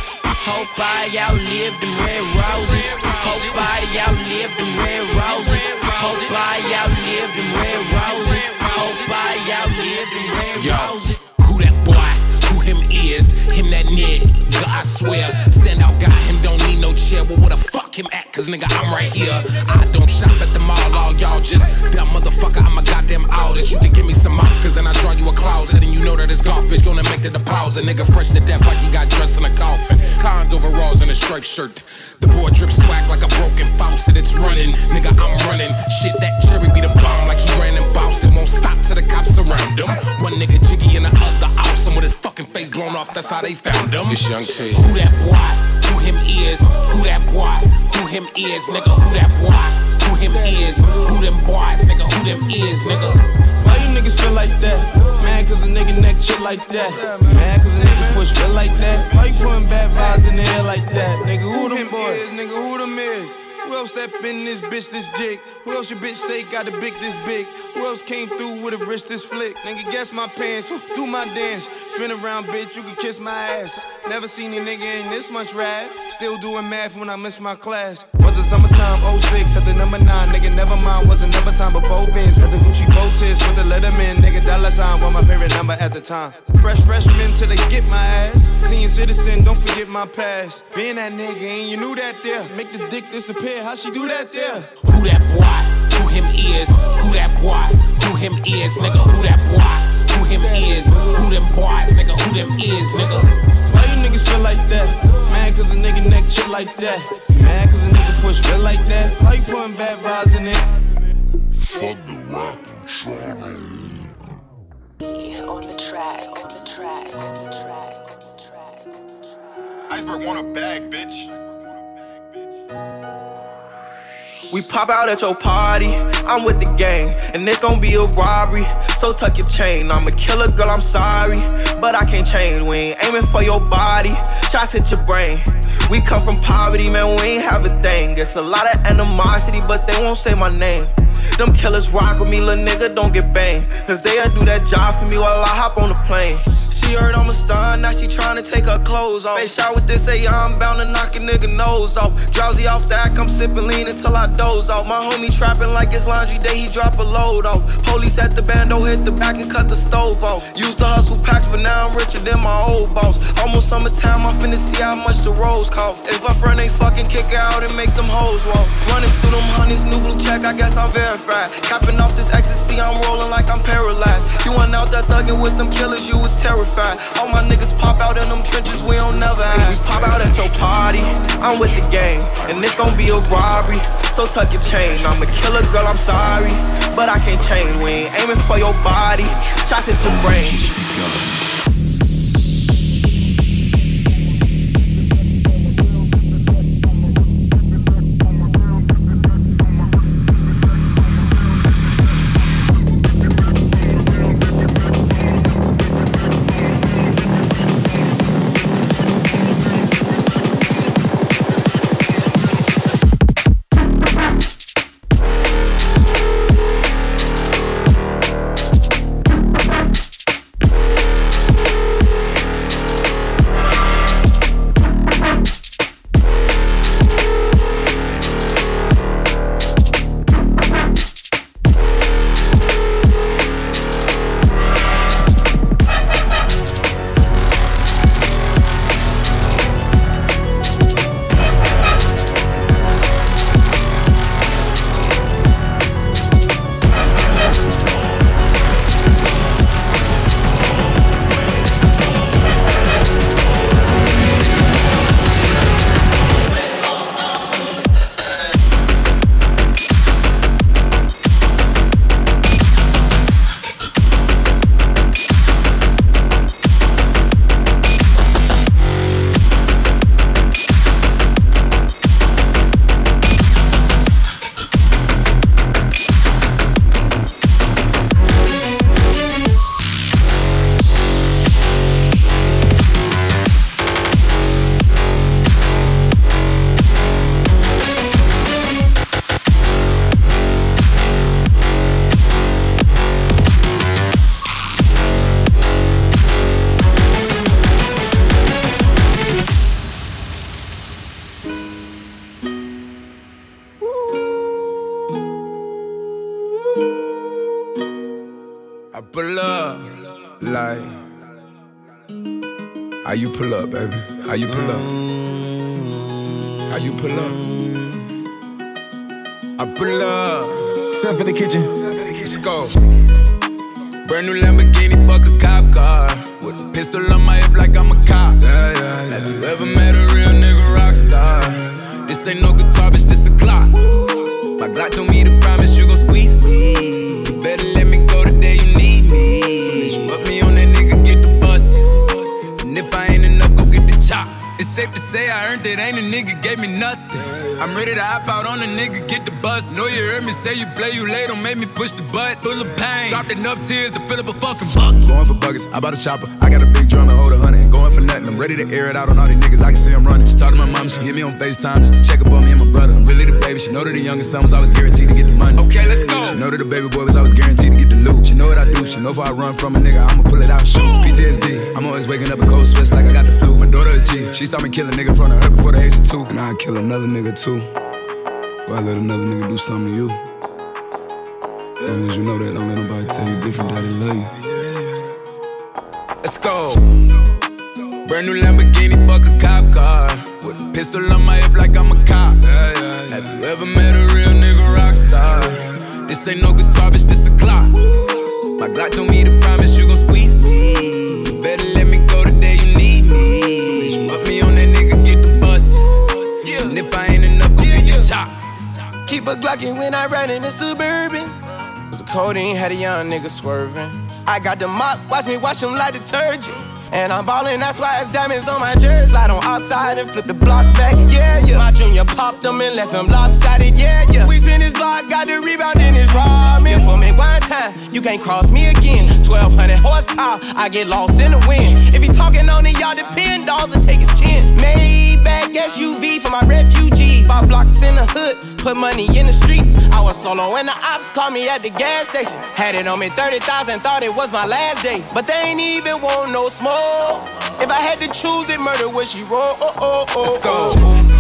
Hope I outlive them red roses. Hope I outlive them red roses. Hope I outlive them red roses. Hope I outlive them red roses. Who that boy? Who him is? Him that nigga, I swear. Stand out guy, him don't need no chair. Well, where the fuck him at? Cause nigga, I'm right here. I don't shop at the mall, all y'all just that motherfucker, I'm a goddamn artist. You can give me some markers and I draw you a closet. And you know that this golf bitch gonna make the deposit. Nigga fresh to death like he got dressed in a coffin. Cons overalls and a striped shirt. The boy drip swag like a broken faucet. It's running, nigga, I'm running. Shit, that cherry be the bomb like he ran in Boston. Won't stop till the cops surround him. One nigga jiggy and the other awesome with his fucking face blown off. That's how they found him. This young T. Who that boy? Who him is? Who that boy? Who him is? Nigga, who that boy? Who him is? Who them boys? Nigga, who them is? Nigga. Why you niggas feel like that? Mad cause a nigga neck shit like that. Mad cause a nigga push feel like that. Why you putting bad vibes in the air like that? Nigga, who them boys? Nigga, who them is? Who else step in this bitch this jig? Who else your bitch say got a big this big? Who else came through with a wrist this flick? Nigga, guess my pants, do my dance. Spin around, bitch, you can kiss my ass. Never seen a nigga in this much rap. Still doing math when I miss my class. Was it summertime, 06, at the number 9. Nigga, never mind, wasn't never time before Benz. With the Gucci bow tips, with the Letterman. Nigga, $sign was my favorite number at the time. Freshman till they skip my ass. Senior citizen, don't forget my past. Being that nigga and you knew that there. Make the dick disappear, how she do that there? Who that boy? Who him is, who that boy, who him is, nigga, who that boy, who him is, who them boys, nigga, who them is, nigga. Why you niggas feel like that? Mad cause a nigga neck shit like that. Mad cause a nigga push real like that. Why you putting bad vibes in it? Fuck the rap and On the track, on the track, on the track. Iceberg want a bag, bitch. We pop out at your party, I'm with the gang, and it's gon' be a robbery, so tuck your chain. I'm a killer, girl, I'm sorry, but I can't change. We ain't aiming for your body, shots hit your brain. We come from poverty, man, we ain't have a thing. It's a lot of animosity, but they won't say my name. Them killers rock with me, little nigga, don't get banged, cause they'll do that job for me while I hop on the plane. She heard I'm a star, now she tryna take her clothes off. Face shot with this AR, I'm bound to knock a nigga nose off. Drowsy off the act, I'm sippin' lean until I doze off. My homie trappin' like it's laundry day, he drop a load off. Police at the bando, hit the back and cut the stove off. Used to hustle packs, but now I'm richer than my old boss. Almost summertime, I'm finna see how much the rolls cost. If my friend ain't fucking, kick her out and make them hoes walk. Running through them honeys, new blue check, I guess I'm verified. Capping off this ecstasy, I'm rolling like I'm paralyzed. You went out there thugging with them killers, you was terrified. All my niggas pop out in them trenches, we don't never hide. We pop out at your party, I'm with the gang, and it's gon' be a robbery, so tuck your chain. I'm a killer, girl, I'm sorry, but I can't change. We ain't aiming for your body, shots hit your brain. pull up, like. How you pull up, baby? How you pull up? How you pull up? I pull up. Step in the kitchen. Let's go. Brand new Lamborghini, fuck a cop car. With a pistol on my hip like I'm a cop. Have you ever met a real nigga rock star? This ain't no guitar, bitch, this a Glock. My Glock told me to promise you gon' squeeze me. You better let me go the day you need me. So bitch, put me on that nigga, get the bus. And if I ain't enough, go get the chop. It's safe to say I earned it, ain't a nigga gave me nothing. I'm ready to hop out on a nigga, get the bus. Know you heard me say you play, you late, don't make me push the butt. Full of pain, dropped enough tears to fill up a fucking bucket. Going for buckets, I bought a chopper. I got a big drum to hold 100. Going for nothing, I'm ready to air it out on all these niggas, I can see I'm running. She talked to my mom, she hit me on FaceTime just to check up on me and my brother. I'm really the baby, she know that the youngest son was always guaranteed to get the money. Okay, let's go. She know that the baby boy was always guaranteed to get the loot. She know what I do, she know if I run from a nigga, I'ma pull it out and shoot. PTSD, I'm always waking up in cold sweats like I got the flu. My daughter a G, she saw me kill a nigga in front of her before the age of 2. And I'd kill another nigga too, before I let another nigga do something to you. As long as you know that, don't let nobody tell you different, that they love you. Let's go. Brand new Lamborghini, fuck a cop car. With a pistol on my hip like I'm a cop. Have you ever met a real nigga rock star? This ain't no guitar, bitch, this a Glock. My Glock told me to promise you gon' squeeze me. Better let me go the day you need me. So bitch, put me on that nigga, get the bus. And if I ain't enough, go get the chop. Keep a Glockin' when I ride in the Suburban. Cause the codeine had a young nigga swerving. I got the mop, watch me wash him like detergent. And I'm ballin', that's why it's diamonds on my jersey. Slide on outside and flip the block back, yeah, yeah. My junior popped him and left him lopsided, yeah, yeah. We spin his block, got the rebound in his ramen. For me one time, you can't cross me again. 1200 horsepower, I get lost in the wind. If he talking on it, y'all depend, dolls and take his chin. Maybach SUV for my refugees. 5 blocks in the hood, put money in the streets. I was solo and the ops called me at the gas station. Had it on me 30,000, thought it was my last day. But they ain't even want no smoke. If I had to choose it, murder would she roll? Let's go.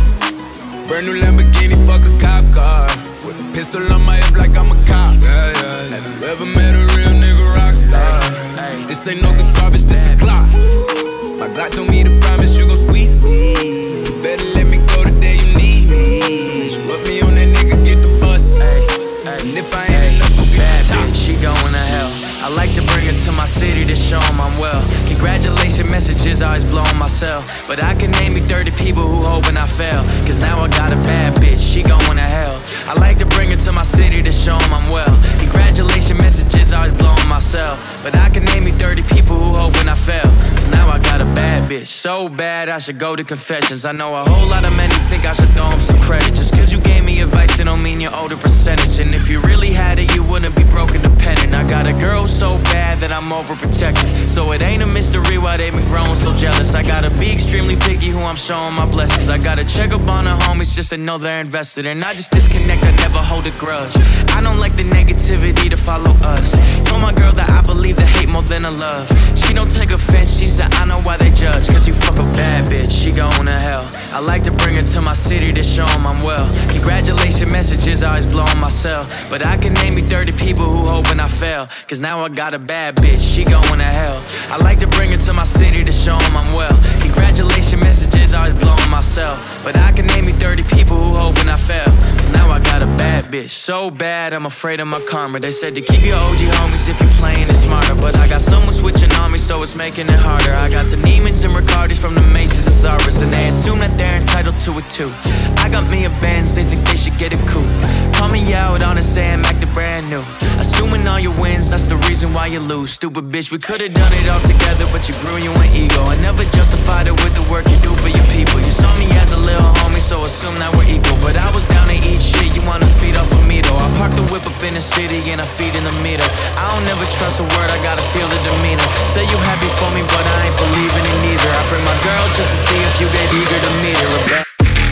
Brand new Lamborghini, fuck a cop car. With a pistol on my hip like I'm a cop. Have you ever met a real nigga rock star? This ain't no guitar, bitch, this a Glock. My Glock told me to promise you gon' squeeze me. Better let me go the day you need me. So bitch, put me on that nigga, get the bus. And if I ain't enough, go get the chop. She going to hell. I like to bring her to my city to show 'em I'm well. Congratulations messages always blowing myself. But I can name me 30 people who hoping I fail. Cause now I got a bad bitch, she going to hell. I like to bring her to my city to show 'em I'm well. Congratulations messages always blowing myself. But I can name me 30 people who hoping I fail. Cause now I got a bad bitch, so bad I should go to confessions. I know a whole lot of men who think I should throw 'em some credit. Just cause you gave me advice, it don't mean you're owed a percentage. And if you really had it, you wouldn't be broke independent. I got a girl so bad that I'm overprotected. So it ain't a mystery why they been growing so jealous. I gotta be extremely picky who I'm showing my blessings. I gotta check up on the homies just to know they're invested. And I just disconnect, I never hold a grudge. I don't like the negativity to follow us. Told my girl that I believe the hate more than the love. She don't take offense, she said I know why they judge. Cause you fuck a bad bitch, she going to hell. I like to bring her to my city to show 'em I'm well. Congratulations messages always blowing myself. But I can name me 30 people who hoping I fail. Cause now I got a bad bitch, she going to hell. I like to bring her to my city to show 'em I'm well. Congratulations messages always blowing myself. But I can name me 30 people who hoping I fail. Cause now I got a bad bitch, so bad I'm afraid of my karma. They said to keep your OG homies if you're playing it smarter. But I got someone switching on me, so it's making it harder. I got the Neiman's and Ricardis from the Macy's and Zara's. And they assume that they're entitled to it too. I got me a Benz, they think they should get a coupe. Call me out on it, say I'm acting brand new. Assuming all your wins, that's the reason why you lose. Stupid bitch, we could've done it all together, but you grew you an ego. I never justified it with the work you do for your people. You saw me as a little homie, so assume that we're equal. But I was down to eat shit, you wanna feed off of me though. I park the whip up in the city and I feed in the meter. I don't never trust a word, I gotta feel the demeanor. Say you happy for me, but I ain't believing it neither. I bring my girl just to see if you get eager to meet her.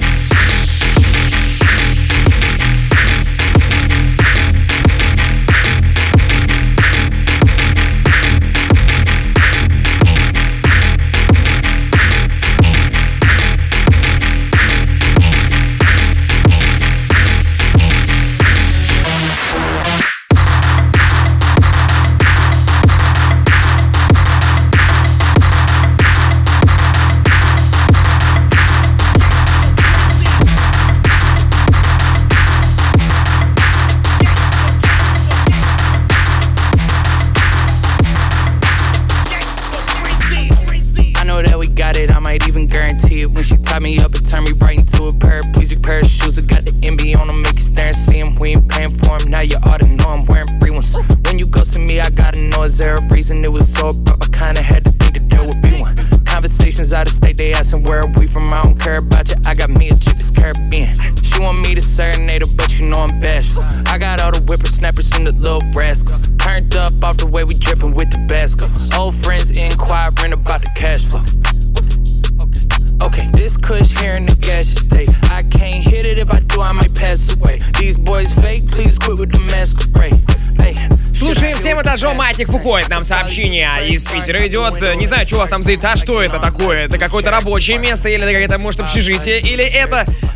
Me up and turn me right into a paraplegic pair of shoes. I got the MB on them, make you stare and see him. We ain't paying for him, now you ought to know I'm wearing free ones. When you go to me, I gotta know is there a reason it was so abrupt. I kinda had to think that there would be one. Conversations out of state, they asking where are we from. I don't care about you, I got me a chick that's Caribbean. She want me to serenade her, but you know I'm bashful. I got all the whippersnappers and the little rascals. Turned up off the way we drippin' with Tabasco. Old friends inquiring about the cash flow. Okay, this kush here in the gas state. I can't hit it, if I do, I might pass away. These boys fake, please quit with the masquerade. Hey. Слушаем всем этажом. Маятник Фуко, это нам сообщение из Питера идет. Не знаю, что у вас там за этаж, что это такое? Это какое-то рабочее место, или это какое-то, может, общежитие, или это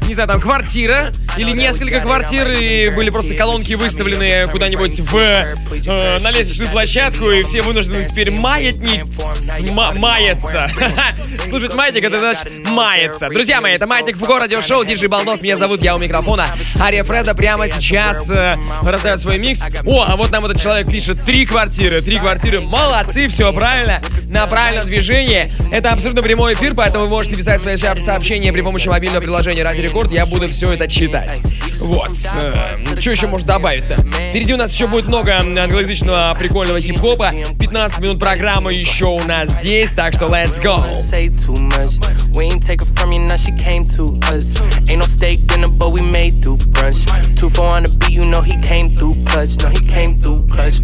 не знаю, там квартира или несколько квартир, и были просто колонки выставлены куда-нибудь на лестничную площадку, и все вынуждены теперь маяться. Слушать маятник, это значит маяться. Друзья мои, это Маятник Фуко, радиошоу, диджей Балдос, меня зовут, я у микрофона. Ария Фреда прямо сейчас раздает свой микс. О, а вот нам этот человек пишет: 3 квартиры. Молодцы, все правильно, на правильном движении. Это абсолютно прямой эфир, поэтому вы можете писать свои сообщения при помощи мобильного приложения Радио Рекорд. Я буду все это читать. Вот. Что еще можно добавить-то? Впереди у нас еще будет много англоязычного прикольного хип-хопа. 15 минут программы еще у нас здесь, так что let's go. We ain't take her from you, now she came to us. Ain't no steak dinner, but we made through brunch. 2-4 on the beat, you know he came through clutch. No, he came through clutch.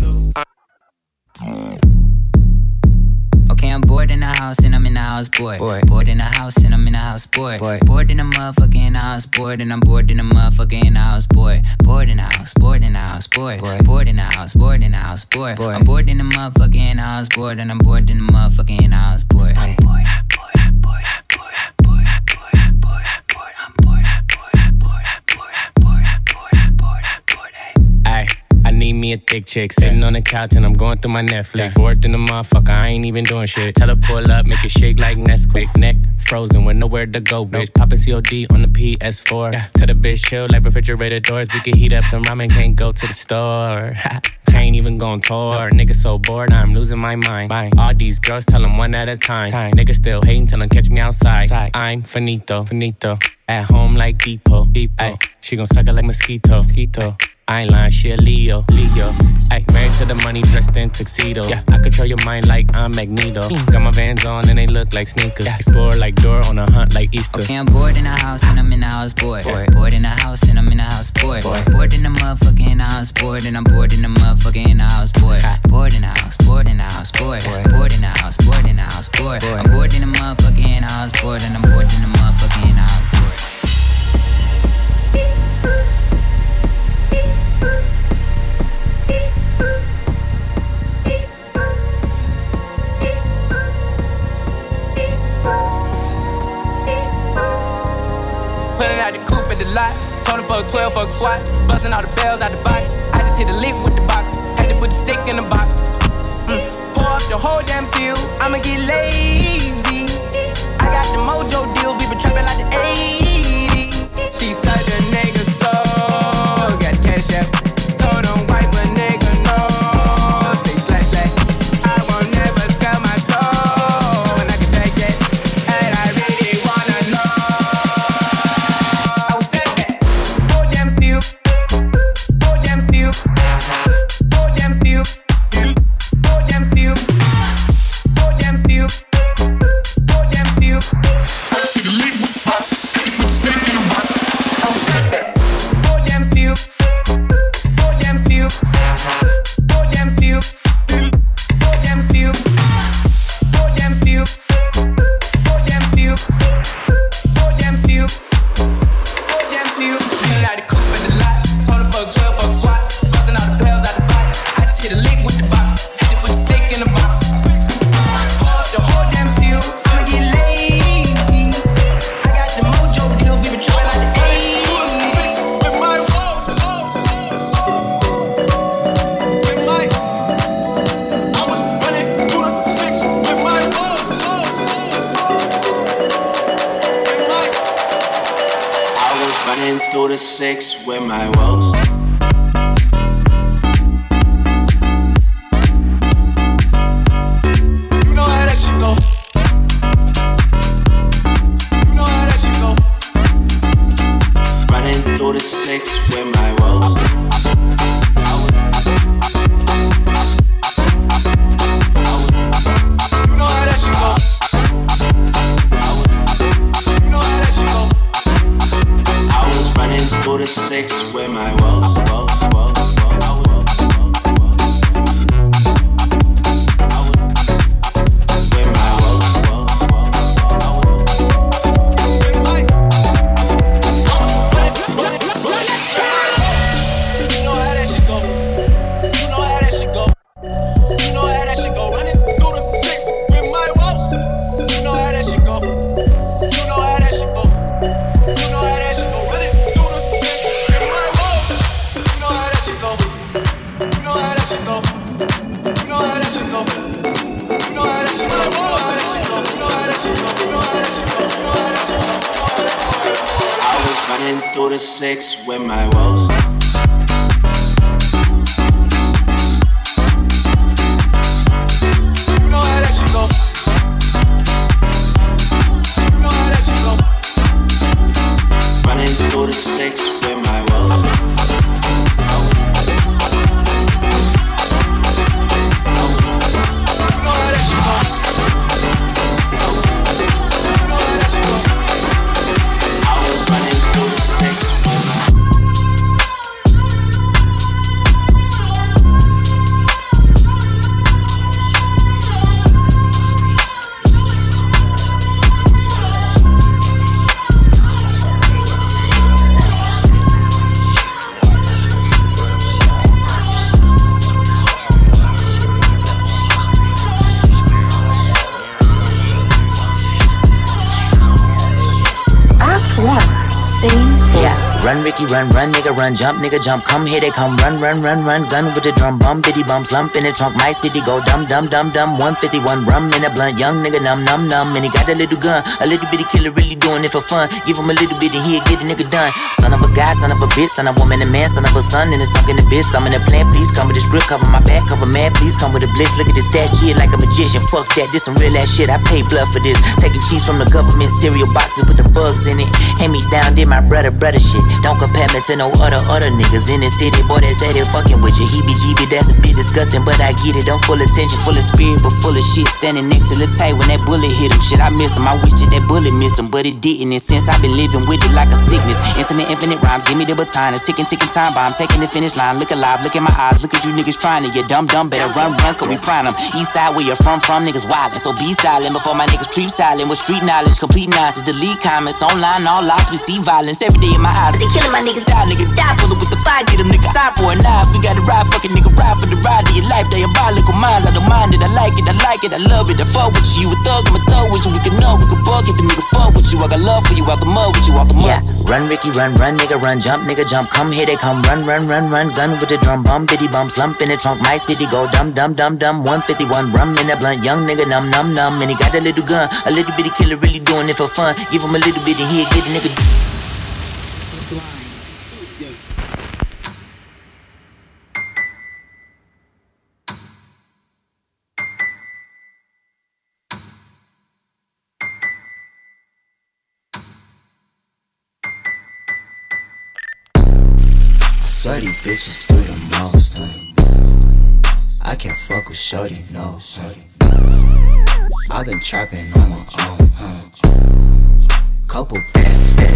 Okay, I'm bored in the house and I'm in the house, bored. Bored in the house and I'm in the house, bored. Bored in the motherfucker in the house, bored. And I'm bored in the motherfucker in the house, bored. Bored in the house, bored in the house, bored. Bored in the house, bored in the house, bored. I'm bored in the motherfucker in the house, bored. And I'm bored in the motherfucker in the house, bored. I'm bored. I need me a thick chick, sitting on the couch and I'm going through my Netflix. Bored in the motherfucker, I ain't even doing shit. Tell her pull up, make it shake like Nesquik. Neck frozen with nowhere to go, bitch. Poppin' COD on the PS4. Tell the bitch chill like refrigerator doors. We can heat up some ramen, can't go to the store. Can't even go on tour. Nigga so bored, I'm losing my mind. All these girls tell them one at a time. Nigga still hating, tell them catch me outside. I'm finito. At home like Depot. Ay, she gon' suck it like mosquito. I ain't lying, she a Leo. Ay, married to the money, dressed in tuxedo. Yeah, I control your mind like I'm Magneto. Got my Vans on and they look like sneakers. Explore like Dora on a hunt like Easter. Okay, I'm bored in the house and I'm in the house, bored. Bored in the house and I'm in the house, bored. Bored in the motherfucker in the house, bored. And I'm bored in the motherfucker in the house, bored. Bored in the house, bored in the house, bored. Bored in the house, bored in the house, bored. I'm bored in the motherfucker in the house, bored. And I'm bored in the motherfucker in the house, bored. Pulling out the coupe at the lot. Told him fuck 12, fuck SWAT. Busting all the bells out the box. I just hit a lick with the box. Had to put the stick in the box. Pour up the whole damn seal. I'ma get lazy. I got the mojo deals. We been trapping like the 80s. She said the nigga so. Got the cash app. Told him wipe a nigga no. Say slash. I won't never sell my soul. And I can take that. And I really wanna know. Through the 6 with my woes. You know how that shit go. Running through the 6 with my woes. You know how that shit go. Running through the 6 with my woes. Running through the 6 with my woes. You know how that shit go. You know how that shit go. Running through the 6 with my woes. Run, Ricky, run, nigga, run, jump, nigga, jump. Come here, they come, run. Gun with the drum, bum, bitty bum, slump in the trunk. My city go dumb. 151 rum in a blunt, young nigga, numb. And he got a little gun, a little bitty killer, really doing it for fun. Give him a little bit and he'll get a nigga done. Son of a guy, son of a bitch, son of a woman, a man, son of a son, and it's sunk in the bitch. I'm in the plan, please come with this grip, cover my back, cover man, please come with a blitz. Look at this stash shit like a magician. Fuck that, this some real ass shit. I pay blood for this. Taking cheese from the government cereal boxes with the bugs in it. Hand me down, did my brother shit. Don't compare me to no other niggas in the city. Boy, that's at it fucking with you. Heebie-jeebie, that's a bit disgusting, but I get it. I'm full attention, full of spirit, but full of shit. Standing next to the tight when that bullet hit him. Shit, I miss him. I wish that bullet missed him, but it didn't. And since I've been living with it like a sickness, infinite rhymes, give me the baton. A ticking time bomb, taking the finish line. Look alive, look in my eyes, look at you niggas trying to. You dumb, better run, cause we frying them. East side where you're from niggas wildin'. So be silent before my niggas treat silent. With street knowledge, complete nonsense. Delete comments, online, all lots, we see violence every day in my eyes. They killing my niggas, die, nigga, die. Pull up with the fire, get them nigga time for a knife. We gotta ride, fucking nigga, ride for the ride of your life. Diabolical minds, I don't mind it, I like it, I love it. I fuck with you, a thug, I'm a thug with you. We can know, we can bug if a nigga fuck with you. I got love for you, out the mud with you, off the mud. Yeah. Run, Ricky, run, nigga, run, jump, nigga, jump. Come here, they come, run. Gun with the drum, bum, bitty bum, slump in the trunk. My city go dumb. 151 rum in a blunt, young nigga, numb. And he got a little gun, a little bitty killer, really doing it for fun. Give him a little bit and he'll get a nigga. Swear these bitches do the most. I can't fuck with shorty, no. I've been trapping on my own, couple bands for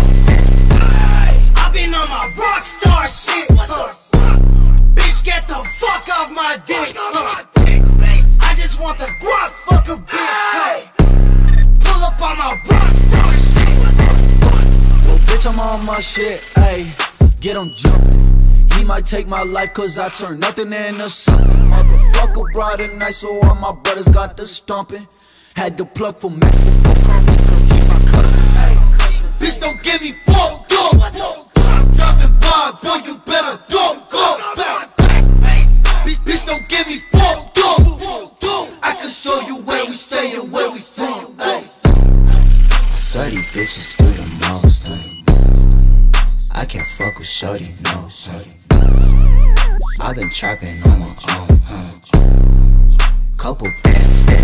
I've been on my rockstar shit. Bitch, get the fuck off my dick. I just want the guap, fuck a bitch. Pull up on my rockstar shit. Well, bitch, I'm on my shit, ayy. Get him jumping. He might take my life cause I turn nothing into something. Motherfucker brought a knife so all my brothers got the stomping. Had to plug for Mexico, he my cousin. Bitch, don't give me fuck, go. I'm dropping by, boy, you better don't go. Bitch, don't give me fuck, go. I can show you where we stay and where we from. I swear these bitches do the most. I can't fuck with shorty, no. I've been trapping on my own, couple bands for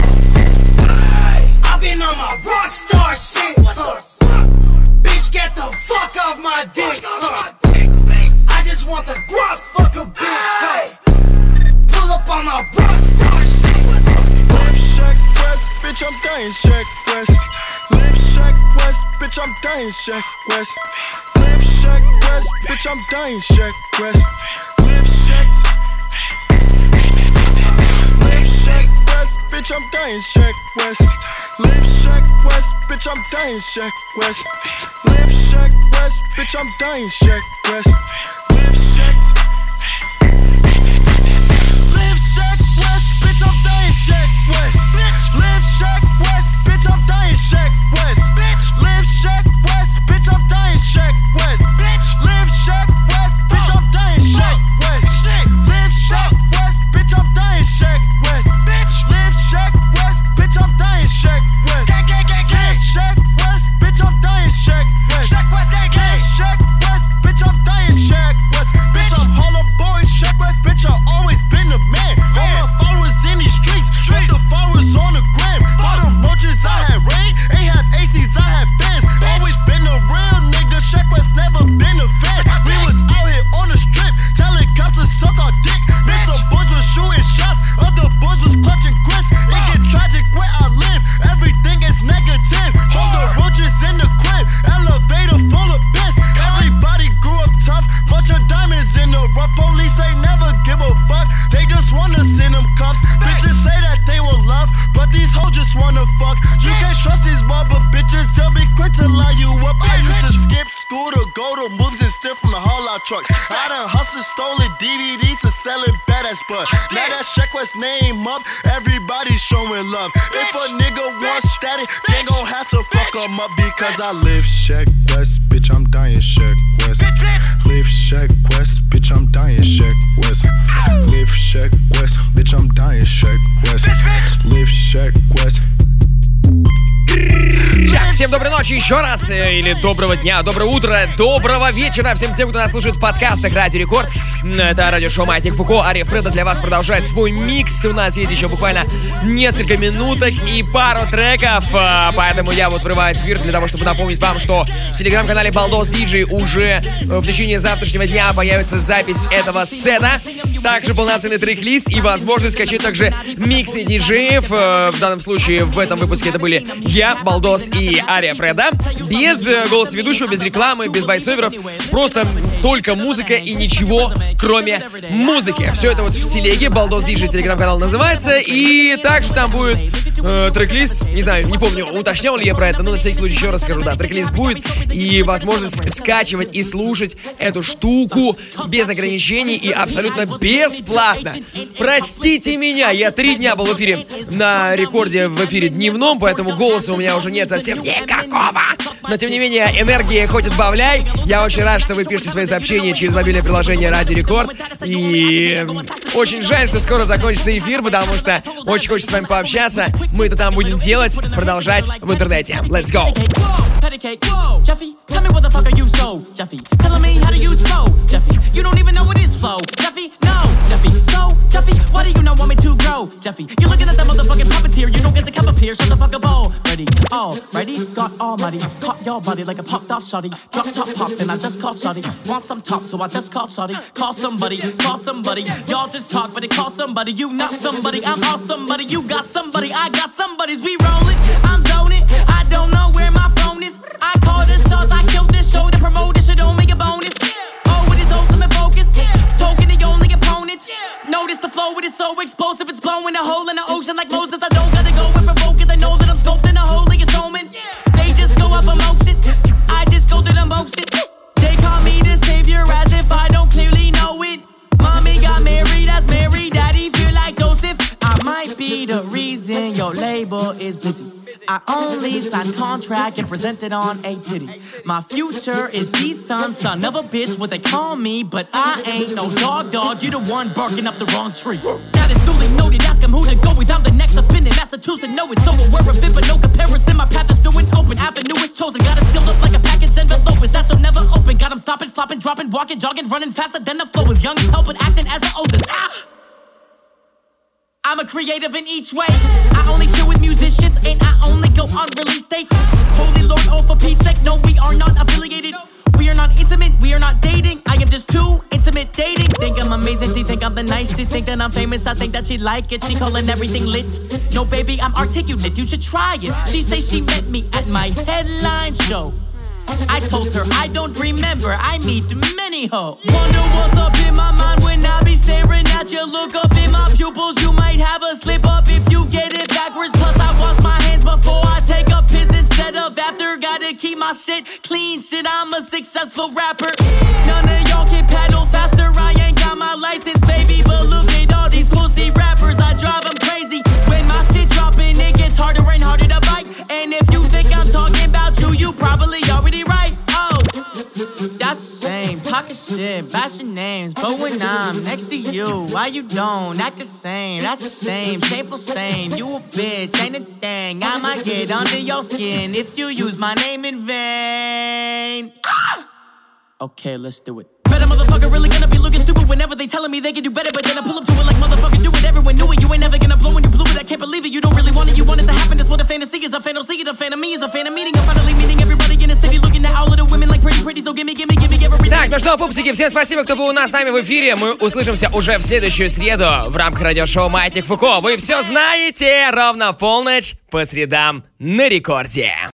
I've been on my rockstar shit. Bitch, get the fuck off my dick. I just want the guap, fuck a bitch. Pull up on my rockstar shit. Left Shack West, bitch, I'm dying Shack West. Left Shack West, bitch, I'm dying Shack West. Left Shack West, bitch, I'm dying Shack West. Left Shack West, bitch, I'm dying Shack West. Left Shack West, bitch, I'm dying Shack West. Left Shack West, bitch, I'm dying Shack West. Left Shack West, bitch, I'm dying Shack West. Left Shack West, bitch, I'm dying Shack West. Left Shack West, bitch, I'm dying Shack West. Left Shack West, bitch, I'm dying Shack West. Left Shack West, bitch, I'm dying Shack West. Left Shack West, bitch, I'm dying Shack West. Left Shack West, bitch, I'm dying Shack West. Left trucks. I done hustled, stolen DVDs to selling badass, but now that Sheck West name up, everybody's showing love. If a nigga wants static, they gon' have to fuck him up because I live Sheck West, bitch, I'm dying Sheck West. Live Sheck West, bitch, I'm dying Sheck West. Live Sheck West, bitch, I'm dying Sheck West. Live Sheck West. Так, всем доброй ночи еще раз, или доброго дня, доброго утра, доброго вечера всем тем, кто нас слушает в подкастах Радио Рекорд. Это радиошоу Маятник Фуко, Ария Фреда для вас продолжает свой микс. У нас есть еще буквально несколько минуток и пару треков, поэтому я вот врываюсь в эфир для того, чтобы напомнить вам, что в телеграм-канале Балдос Диджей уже в течение завтрашнего дня появится запись этого сета, также полноценный трек-лист и возможность скачать также миксы диджеев. В данном случае в этом выпуске это были я, Балдос и Ария Фреда. Без голоса ведущего, без рекламы, без войсоверов. Просто только музыка и ничего, кроме музыки. Все это вот в телеге. Балдос Диджей телеграм-канал называется. И также там будет трек-лист. Не знаю, не помню, уточнял ли я про это, но на всякий случай еще раз скажу. Да, трек-лист будет. И возможность скачивать и слушать эту штуку без ограничений и абсолютно бесплатно. Простите меня, я 3 дня был в эфире на рекорде, в эфире дневном, поэтому голоса у меня уже нет совсем никакого. Но тем не менее, энергии хоть отбавляй. Я очень рад, что вы пишете свои сообщения через мобильное приложение Радио Рекорд. И очень жаль, что скоро закончится эфир, потому что очень хочется с вами пообщаться. Мы это там будем делать, продолжать в интернете. Let's go! Pedicate, whoa, Jeffy, tell me what the fuck are you so, Jeffy, telling me how to use flow, Jeffy, you don't even know what is flow, Jeffy, no, Jeffy, so, Jeffy, why do you not want me to grow, Jeffy, you're looking at that motherfucking puppeteer, you don't get to come up here, shut the fuck up, all ready, got almighty, caught your body like a popped off shotty, drop top pop, and I just called shotty, want some top, so I just called shotty, call somebody, y'all just talk, but it call somebody, you not somebody, I'm all somebody, you got somebody, I got somebody's, we rollin', I'm zoning, I don't know where my phone is. I call the shots, I killed this show to promote this shit, don't make a bonus. Oh, with his ultimate focus, token the only opponent. Notice the flow, it is so explosive, it's blowing a hole in the ocean like Moses. I don't gotta go and provoke it, I know that I'm sculpting a hole like a omen. They just go up emotion, I just go to the motion. They call me the savior as if I don't clearly know it. Mommy got married as Mary, daddy feel like Joseph. I might be the reason your label is busy. I only sign contract and present it on a titty. My future is the son of a bitch, what they call me, but I ain't no dog, you the one barking up the wrong tree. That is duly noted, ask him who to go with, I'm the next up in Massachusetts, know it, so aware of it, but no comparison, my path is new and open, avenue is chosen, got it sealed up like a package envelope, is that so never open, got him stopping, flopping, dropping, walking, jogging, running faster than the flow, is young as hell, but acting as the oldest. I'm a creative in each way. I only chill with musicians and I only go on release dates. Holy Lord, oh for Pete's sake, no, we are not affiliated. We are not intimate, we are not dating. I am just too intimate dating. Think I'm amazing, she think I'm the nicest. Think that I'm famous, I think that she like it. She calling everything lit. No baby, I'm articulate, you should try it. She say she met me at my headline show. I told her I don't remember, I meet many hoes. Wonder what's up in my mind when I be staring at you. Look up in my pupils, you might have a slip up if you get it backwards. Plus I wash my hands before I take a piss instead of after. Gotta keep my shit clean, shit, I'm a successful rapper. None of y'all can paddle faster, I ain't got my license, baby. But look at all these pussy rappers, I drive them crazy. When my shit dropping, it gets harder and harder to bite. And if you think I'm talking about you, you probably already right. Oh, that's the same, talking shit, bashing names. But when I'm next to you, why you don't act the same? That's the same, shameful same. You a bitch, ain't a thing. I might get under your skin if you use my name in vain. Okay, let's do it. Better motherfucker really gonna be looking stupid whenever they telling me they can do better, but then I pull up to it like motherfucker do it. Everyone knew it, you ain't never gonna blow when you blew it. I can't believe it, you don't really want it, you want it to happen. That's what a fantasy is, a fan don't see it, a fan of me is a fan of meeting. I'm finally meeting everybody in the city, looking at all of the women like pretty, so give me everything. Так, ну что, пупсики, всем спасибо, кто был у нас с нами в эфире. Мы услышимся уже в следующую среду в рамках радиошоу «Маятник Фуко». Вы все знаете, ровно в полночь по средам на рекорде.